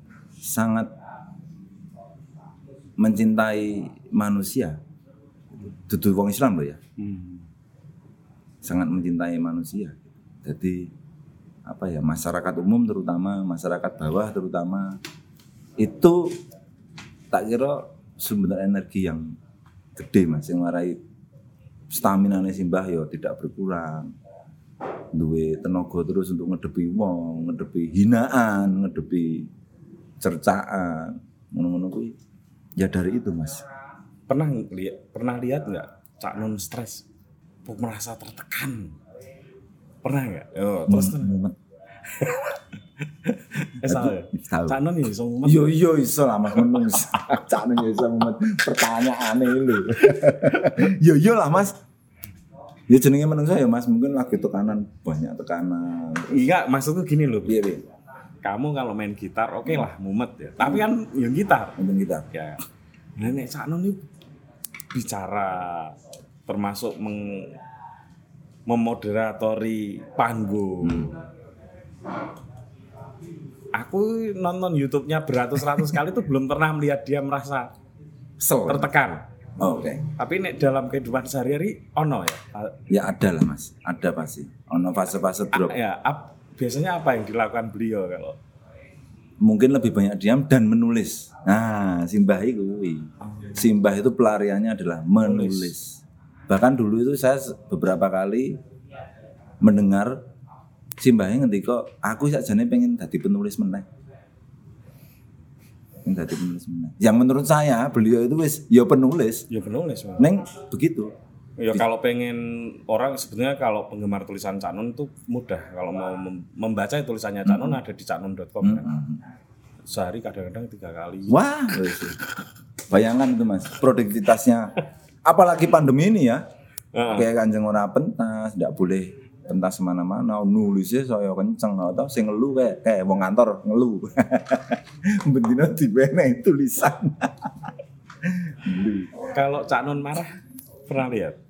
mencintai manusia. Dudu wong Islam loh ya. Sangat mencintai manusia. Jadi masyarakat umum terutama, masyarakat bawah terutama itu tak kira sumber energi yang gede Mas, yang marai stamina Simbah ya tidak berkurang. Duwe tenaga terus untuk ngedepi wong, ngedepi hinaan, ngedepi cercaan, ngono-ngono kuwi. Ya dari itu Mas. Pernah lihat nggak Caknun stres, merasa tertekan? Pernah nggak? Terus mumet. Salah. Caknun ya iso mumet. Iya iso lah Mas menung. Caknun ya iso mumet. Pertanyaane lho. Yo lah Mas. Ya jenenge menungso ya Mas, mungkin lagi tekanan, banyak tekanan. Iya, maksudku gini loh. Piye? Kamu kalau main gitar oke lah mumet ya. Tapi kan yang gitar. Main gitar. Ya. Nek Caknun ini bicara termasuk memoderatori panggung. Aku nonton YouTube-nya beratus-ratus kali tuh belum pernah melihat dia merasa tertekan. Oke. Tapi nek dalam kehidupan sehari-hari ono ya? Ya ada lah Mas, ada pasti. Ono fase-fase drop. Biasanya apa yang dilakukan beliau kalau? Mungkin lebih banyak diam dan menulis. Nah, Simbah itu. Simbah itu pelariannya adalah menulis. Bahkan dulu itu saya beberapa kali mendengar Simbahnya ngendika, aku sakjane pengen dadi penulis meneh. Yang menurut saya beliau itu wis ya penulis. Ya penulis. Neng begitu. Ya kalau pengen orang sebenarnya kalau penggemar tulisan Caknun itu mudah. Kalau mau membaca tulisannya Caknun ada di caknun.com kan. Sehari kadang-kadang 3 kali. Wah, bayangan itu Mas, produktivitasnya. Apalagi pandemi ini ya. Kayak Kanjeng ora pentas, ndak boleh pentas semana-mana, nulisnya saya kenceng atau sing ngelu kayak wong kantor ngelu. Bendina dibene tulisan. Kalau Caknun marah pernah lihat?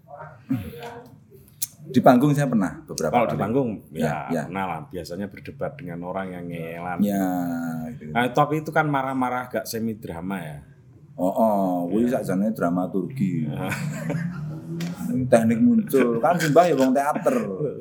Di panggung saya pernah beberapa kali. Kalau di panggung ya. Pernah lah, biasanya berdebat dengan orang yang ngelan. Ya, gitu. Nah, tapi itu kan marah-marah agak semi drama ya. Kuwi sakjane dramaturgi. Teknik muncul kan Simbah ya wong teater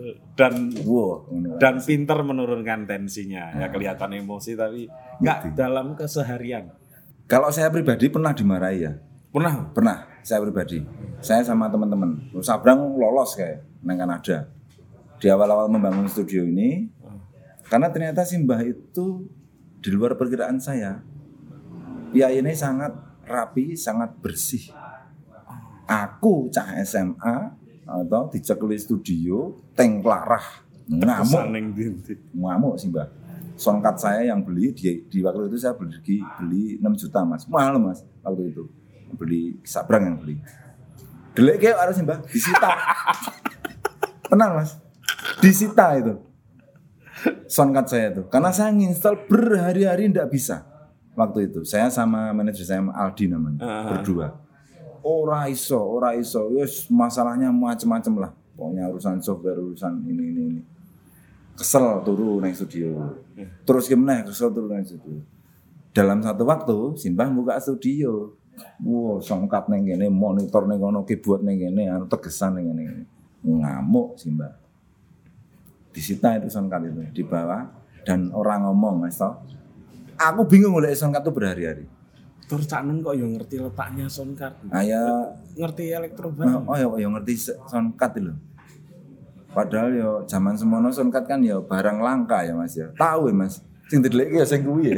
dan pinter menurunkan tensinya. Ya kelihatan emosi tapi enggak dalam keseharian. Kalau saya pribadi pernah dimarahi ya. Pernah saya pribadi. Saya sama teman-teman Sabrang lolos kayak nang Kanada. Di awal-awal membangun studio ini karena ternyata Simbah itu di luar perkiraan saya. Piayine sangat rapi, sangat bersih. Aku cah SMA atau dicekli studio teng klarah ngamuk Simbah. Soundcard saya yang beli di waktu itu saya beli 6 juta Mas. Mahal Mas waktu itu. Beli Sabrang yang beli. Delek kayak harus Simbah disita. Tenang Mas. Disita itu. Soundcard saya itu. Karena saya nginstal berhari-hari enggak bisa. Waktu itu saya sama manajer saya Aldi namanya, berdua. Ora iso, wis masalahnya macam-macam lah. Pokoknya urusan software, urusan ini. Kesel turu nang studio. Terus gimana? Kesel turu nang studio. Dalam satu waktu Simbah buka studio. Wow, songkat nang kene, monitor nang kono, keyboard nang kene, tegesan nang kene. Ngamuk Simbah. Disita itu songkat itu, dibawa dan orang ngomong Mas toh. Aku bingung oleh sound card tuh berhari-hari. Tur Cak Nun kok yo ngerti letaknya sound card. Ya Ngerti elektro barang. yo ngerti sound card lho. Padahal yo zaman semono sound card kan yo barang langka ya Mas ya. Tahu ya Mas. Sing dideleki ya sing kuwi.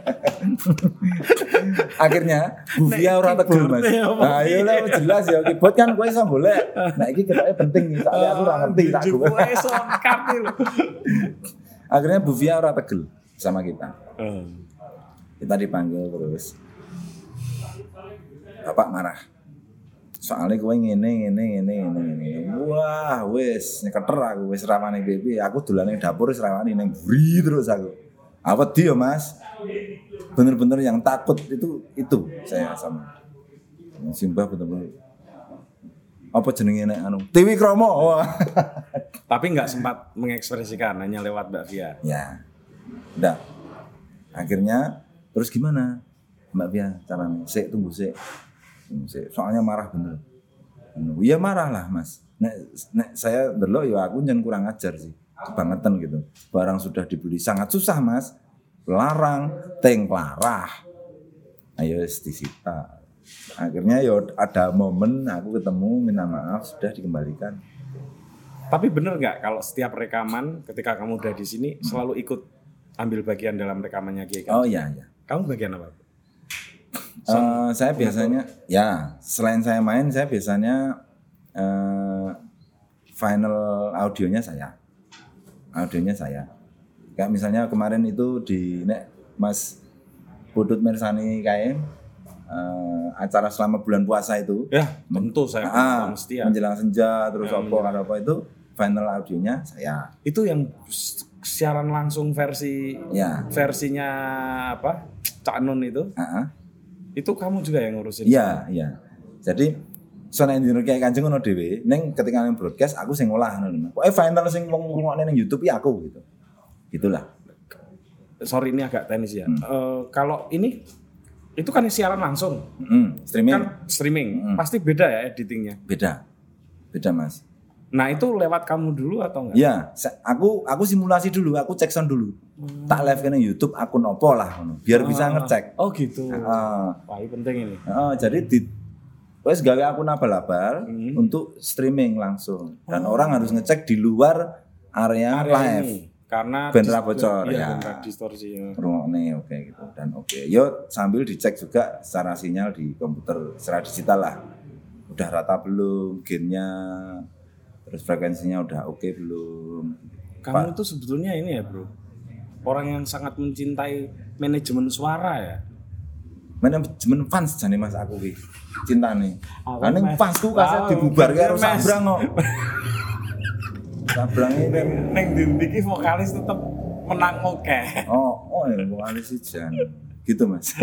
Akhirnya Buvia ora tegel Mas. Nah, iya lah jelas ya keyboard kan kowe iso golek. Nah iki ketoknya penting nih, soalnya aku ora ngerti tak gue. Sound card lho. Akhirnya Buvia ora tegel sama kita. Kita dipanggil terus. Bapak marah. Soalnya kowe ngene. Wah, wis nyeketer aku wis rawani piye. Aku dolane dapur wis rawani ning buri terus aku. Apa dia Mas? Bener-bener yang takut itu saya sama. Simbah bener-bener. Apa jenenge nek anu? Tiwi Kromo. Tapi enggak sempat mengekspresikan hanya lewat Mbak Via. Ya. Udah. Akhirnya terus gimana? Mbak Via caranya? Tunggu sik. Soalnya marah bener. Iya marah lah Mas. Nek saya ndelok ya aku njen kurang ajar sih. Kebangetan gitu. Barang sudah dibeli sangat susah Mas. Larang, klarah. Ayo disita. Akhirnya ya ada momen aku ketemu minta maaf sudah dikembalikan. Tapi bener nggak kalau setiap rekaman ketika kamu udah di sini selalu ikut ambil bagian dalam rekamannya Kiai? Oh iya. Kamu bagian apa? Saya biasanya ya selain saya main saya biasanya final audionya saya kayak misalnya kemarin itu di Mas Putut Mersani KM acara selama bulan puasa itu ya tentu saya mesti ya. Menjelang senja terus apa itu final audionya saya itu yang siaran langsung versinya apa Cak Nun itu itu kamu juga yang ngurusin? Iya. Jadi sound engineer kayak Kanjeng ngono dhewe, ning ketika nang broadcast aku sing ngolah ngono. Pokoke final sing wong ngrungokne ning YouTube ya aku gitu. Gitulah. Sorry ini agak teknis ya. Kalau ini itu kan siaran langsung. Streaming. Kan streaming. Pasti beda ya editingnya. Beda Mas. Nah itu lewat kamu dulu atau enggak? Iya, aku simulasi dulu, aku cek sound dulu. Tak live ke YouTube akun opo lah, biar bisa ngecek. Oh gitu. Wah ini penting ini. Jadi wes gawe akun abal-abal untuk streaming langsung. Dan orang harus ngecek di luar area live. Ini. Karena ben ra bocor ya. Distorsi. Rungokne oke gitu dan oke. Yo sambil dicek juga secara sinyal di komputer secara digital lah. Udah rata belum gainnya? Terus frekuensinya udah oke belum? Kamu itu sebetulnya ini ya bro, orang yang sangat mencintai manajemen suara ya. Manajemen fans jane Mas aku ki cintane. Ning fansku kasih dibubarke karo Sabrang kok. Sabrang iki ning ndi iki vokalis tetep menang oke. Oh ya vokalis jan. Gitu Mas.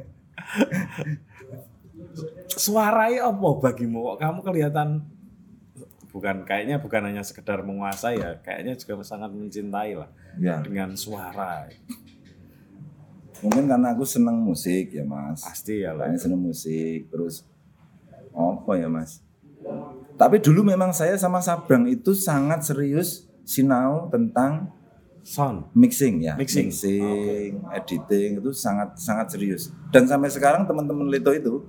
Suaranya apa bagimu kok kamu kelihatan bukan hanya sekedar menguasai ya, kayaknya juga sangat mencintai lah dengan suara. Mungkin karena aku senang musik ya Mas. Pasti ya lah. Senang musik terus apa ya Mas. Tapi dulu memang saya sama Sabrang itu sangat serius sinau tentang sound mixing, editing itu sangat serius. Dan sampai sekarang teman-teman Leto itu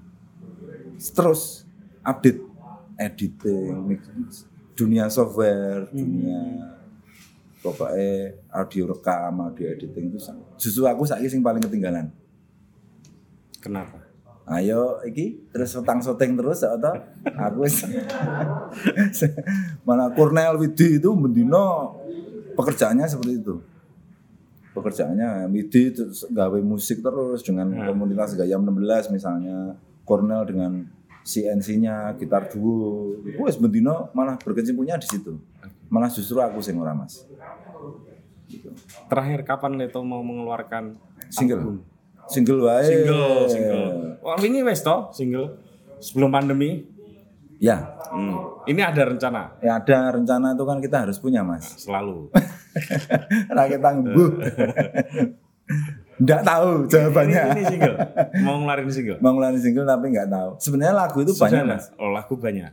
terus update editing, dunia software, dunia pokoknya audio rekam, audio editing itu justru aku saiki sing paling ketinggalan. Kenapa? Ayo iki terus setang-setting terus atau aku malah Cornel Widi itu mendino pekerjaannya seperti itu. Pekerjaannya Widi terus gawe musik terus dengan komunitas Gayam 16 misalnya, Cornel dengan CNC-nya, gitar duo. Wes bendino malah berkecimpungnya di situ. Malah justru aku sing ora Mas. Gitu. Terakhir kapan Leto mau mengeluarkan single? Album? Single wae. Single. Wah, ini wes toh single sebelum pandemi. Ya. Ini ada rencana. Ya ada rencana itu kan kita harus punya Mas. Selalu. Rakyat tangguh. Nggak tahu jawabannya. Ini single. Mau ngeluarin single tapi nggak tahu. Sebenarnya lagu itu banyak Mas. Oh lagu banyak.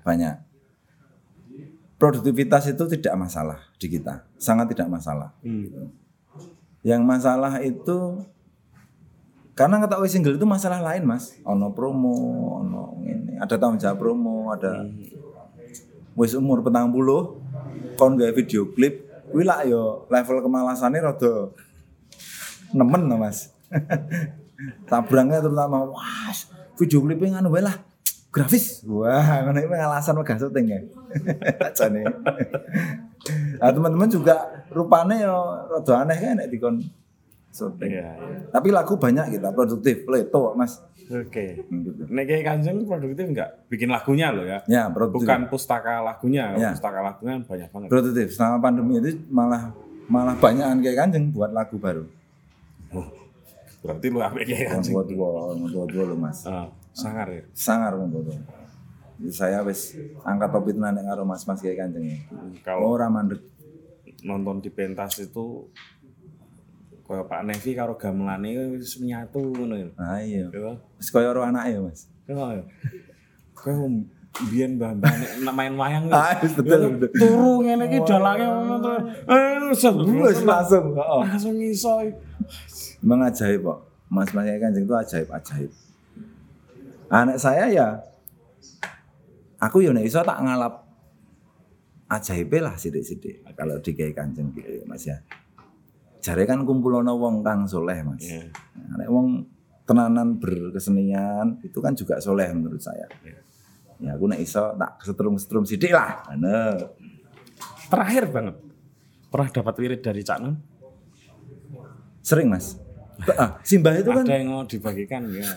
Produktivitas itu tidak masalah di kita. Sangat tidak masalah. Gitu. Yang masalah itu karena ketahui single itu masalah lain mas, ono promo, ono ini, ada tanggung jawab promo, ada wis umur 40, kon gawe video klip, kuwi lak yo level kemalasane rada nemen to mas. Tabrangnya terutama, wah video klipnya nganu wae lah, grafis, wah ngono iki alasan megah syuting ya. Jane. Nah teman-teman juga rupane yo rada aneh kan nek dikon syuting. Iya. Tapi lagu banyak kita produktif, leto mas. Oke. Gitu. Nek Kiai Kanjeng produktif enggak? Bikin lagunya loh ya. Ya produktif. Bukan pustaka lagunya, Ya. pustaka lagunya banyak banget. Produktif. Selama pandemi itu malah banyakan kayak Kanjeng buat lagu baru. Oh, berarti lu apik Kiai Kanjeng. Tua lo mas. Sangar ya. Sangar tua. Saya wis angkat topi tenan nek karo mas-mas kayak Kanjeng ya. Kalau Ora mandek. nonton di pentas itu kayak Pak Nevi karo gamelane wis menyatu ngono ya. Nah iya. Ya. Wis koyo ora anake mas. Ya. Kayak biyen mbah-mbah nek main wayang Betul. turu ngene iki dalange ngono terus. Wis langsung. Langsung iso. Memang ajaib kok. Mas-mas kayak Kanjeng itu ajaib. Anak saya ya aku ya nek iso tak ngalap ajaib lah sithik-sithik kalau di Kiai Kanjeng gitu Mas ya. Jare kan kumpulono wong kang soleh Mas. Yeah. Nek wong tenanan berkesenian itu kan juga soleh menurut saya. Ya aku nek iso tak setrum-setrum sithik lah. Ngono. Terakhir banget. Pernah dapat wirid dari Cak Nun? Sering Mas. Simbah itu kan Ada yang mau dibagikan ya.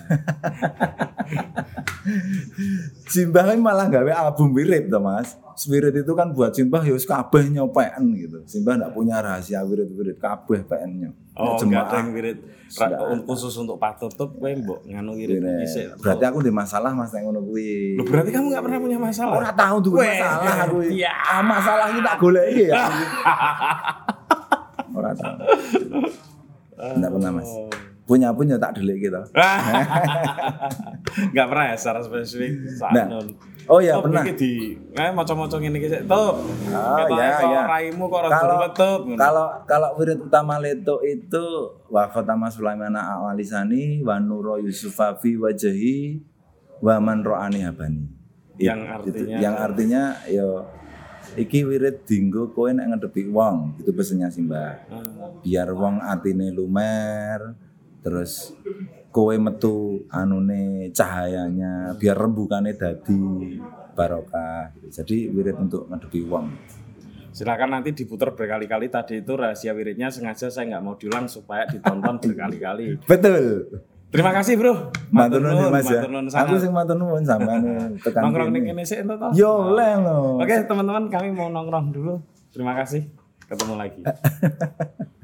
Simbah kan malah gawe album wirid toh Mas. Wirid itu kan buat Simbah ya wis kabeh nyopekan gitu. Simbah enggak punya rahasia wirid-wirid kabeh PN-nya. Oh, enggak ada yang wirid khusus untuk Pak Tutup kowe mbok nganu wirid dhisik. Berarti aku di masalah Mas nek ngono kuwi. Loh, berarti kamu enggak pernah punya masalah? Ora tahu duwe masalah aku. Iya. Masalah iki tak goleki ya. Ora tahu. Enggak pernah Mas. Punya tak delik gitu. Enggak pernah ya secara spesifik Cak Nah. Nun. Oh iya Tup, pernah. Iki di maca-maca ngene iki sik. Tup. Iya. Raimu kok rada tutup. Kalau wirid utama Leto itu wa khatama Sulaimana awalisani wa nuro Yusufa fi wajhi wa man ro'ani habani. Yang artinya yo iki wirid dinggo kowe nek ngedepi wong, itu pesennya Simbah. Biar wong atine lumer, terus kowe metu anune cahayanya, biar rembukane dadi barokah. Jadi wirid untuk ngedepi wong. Silakan nanti diputar berkali-kali. Tadi itu rahasia wiridnya sengaja saya nggak mau diulang supaya ditonton berkali-kali. Betul. Terima kasih bro. Matur nuwun Mas ya. matur nuwun Aku sing matur nuwun sampean tekan nongkrong ning kene. kene sik ento to. Yo le lho. Oke teman-teman kami mau nongkrong dulu. Terima kasih. Ketemu lagi.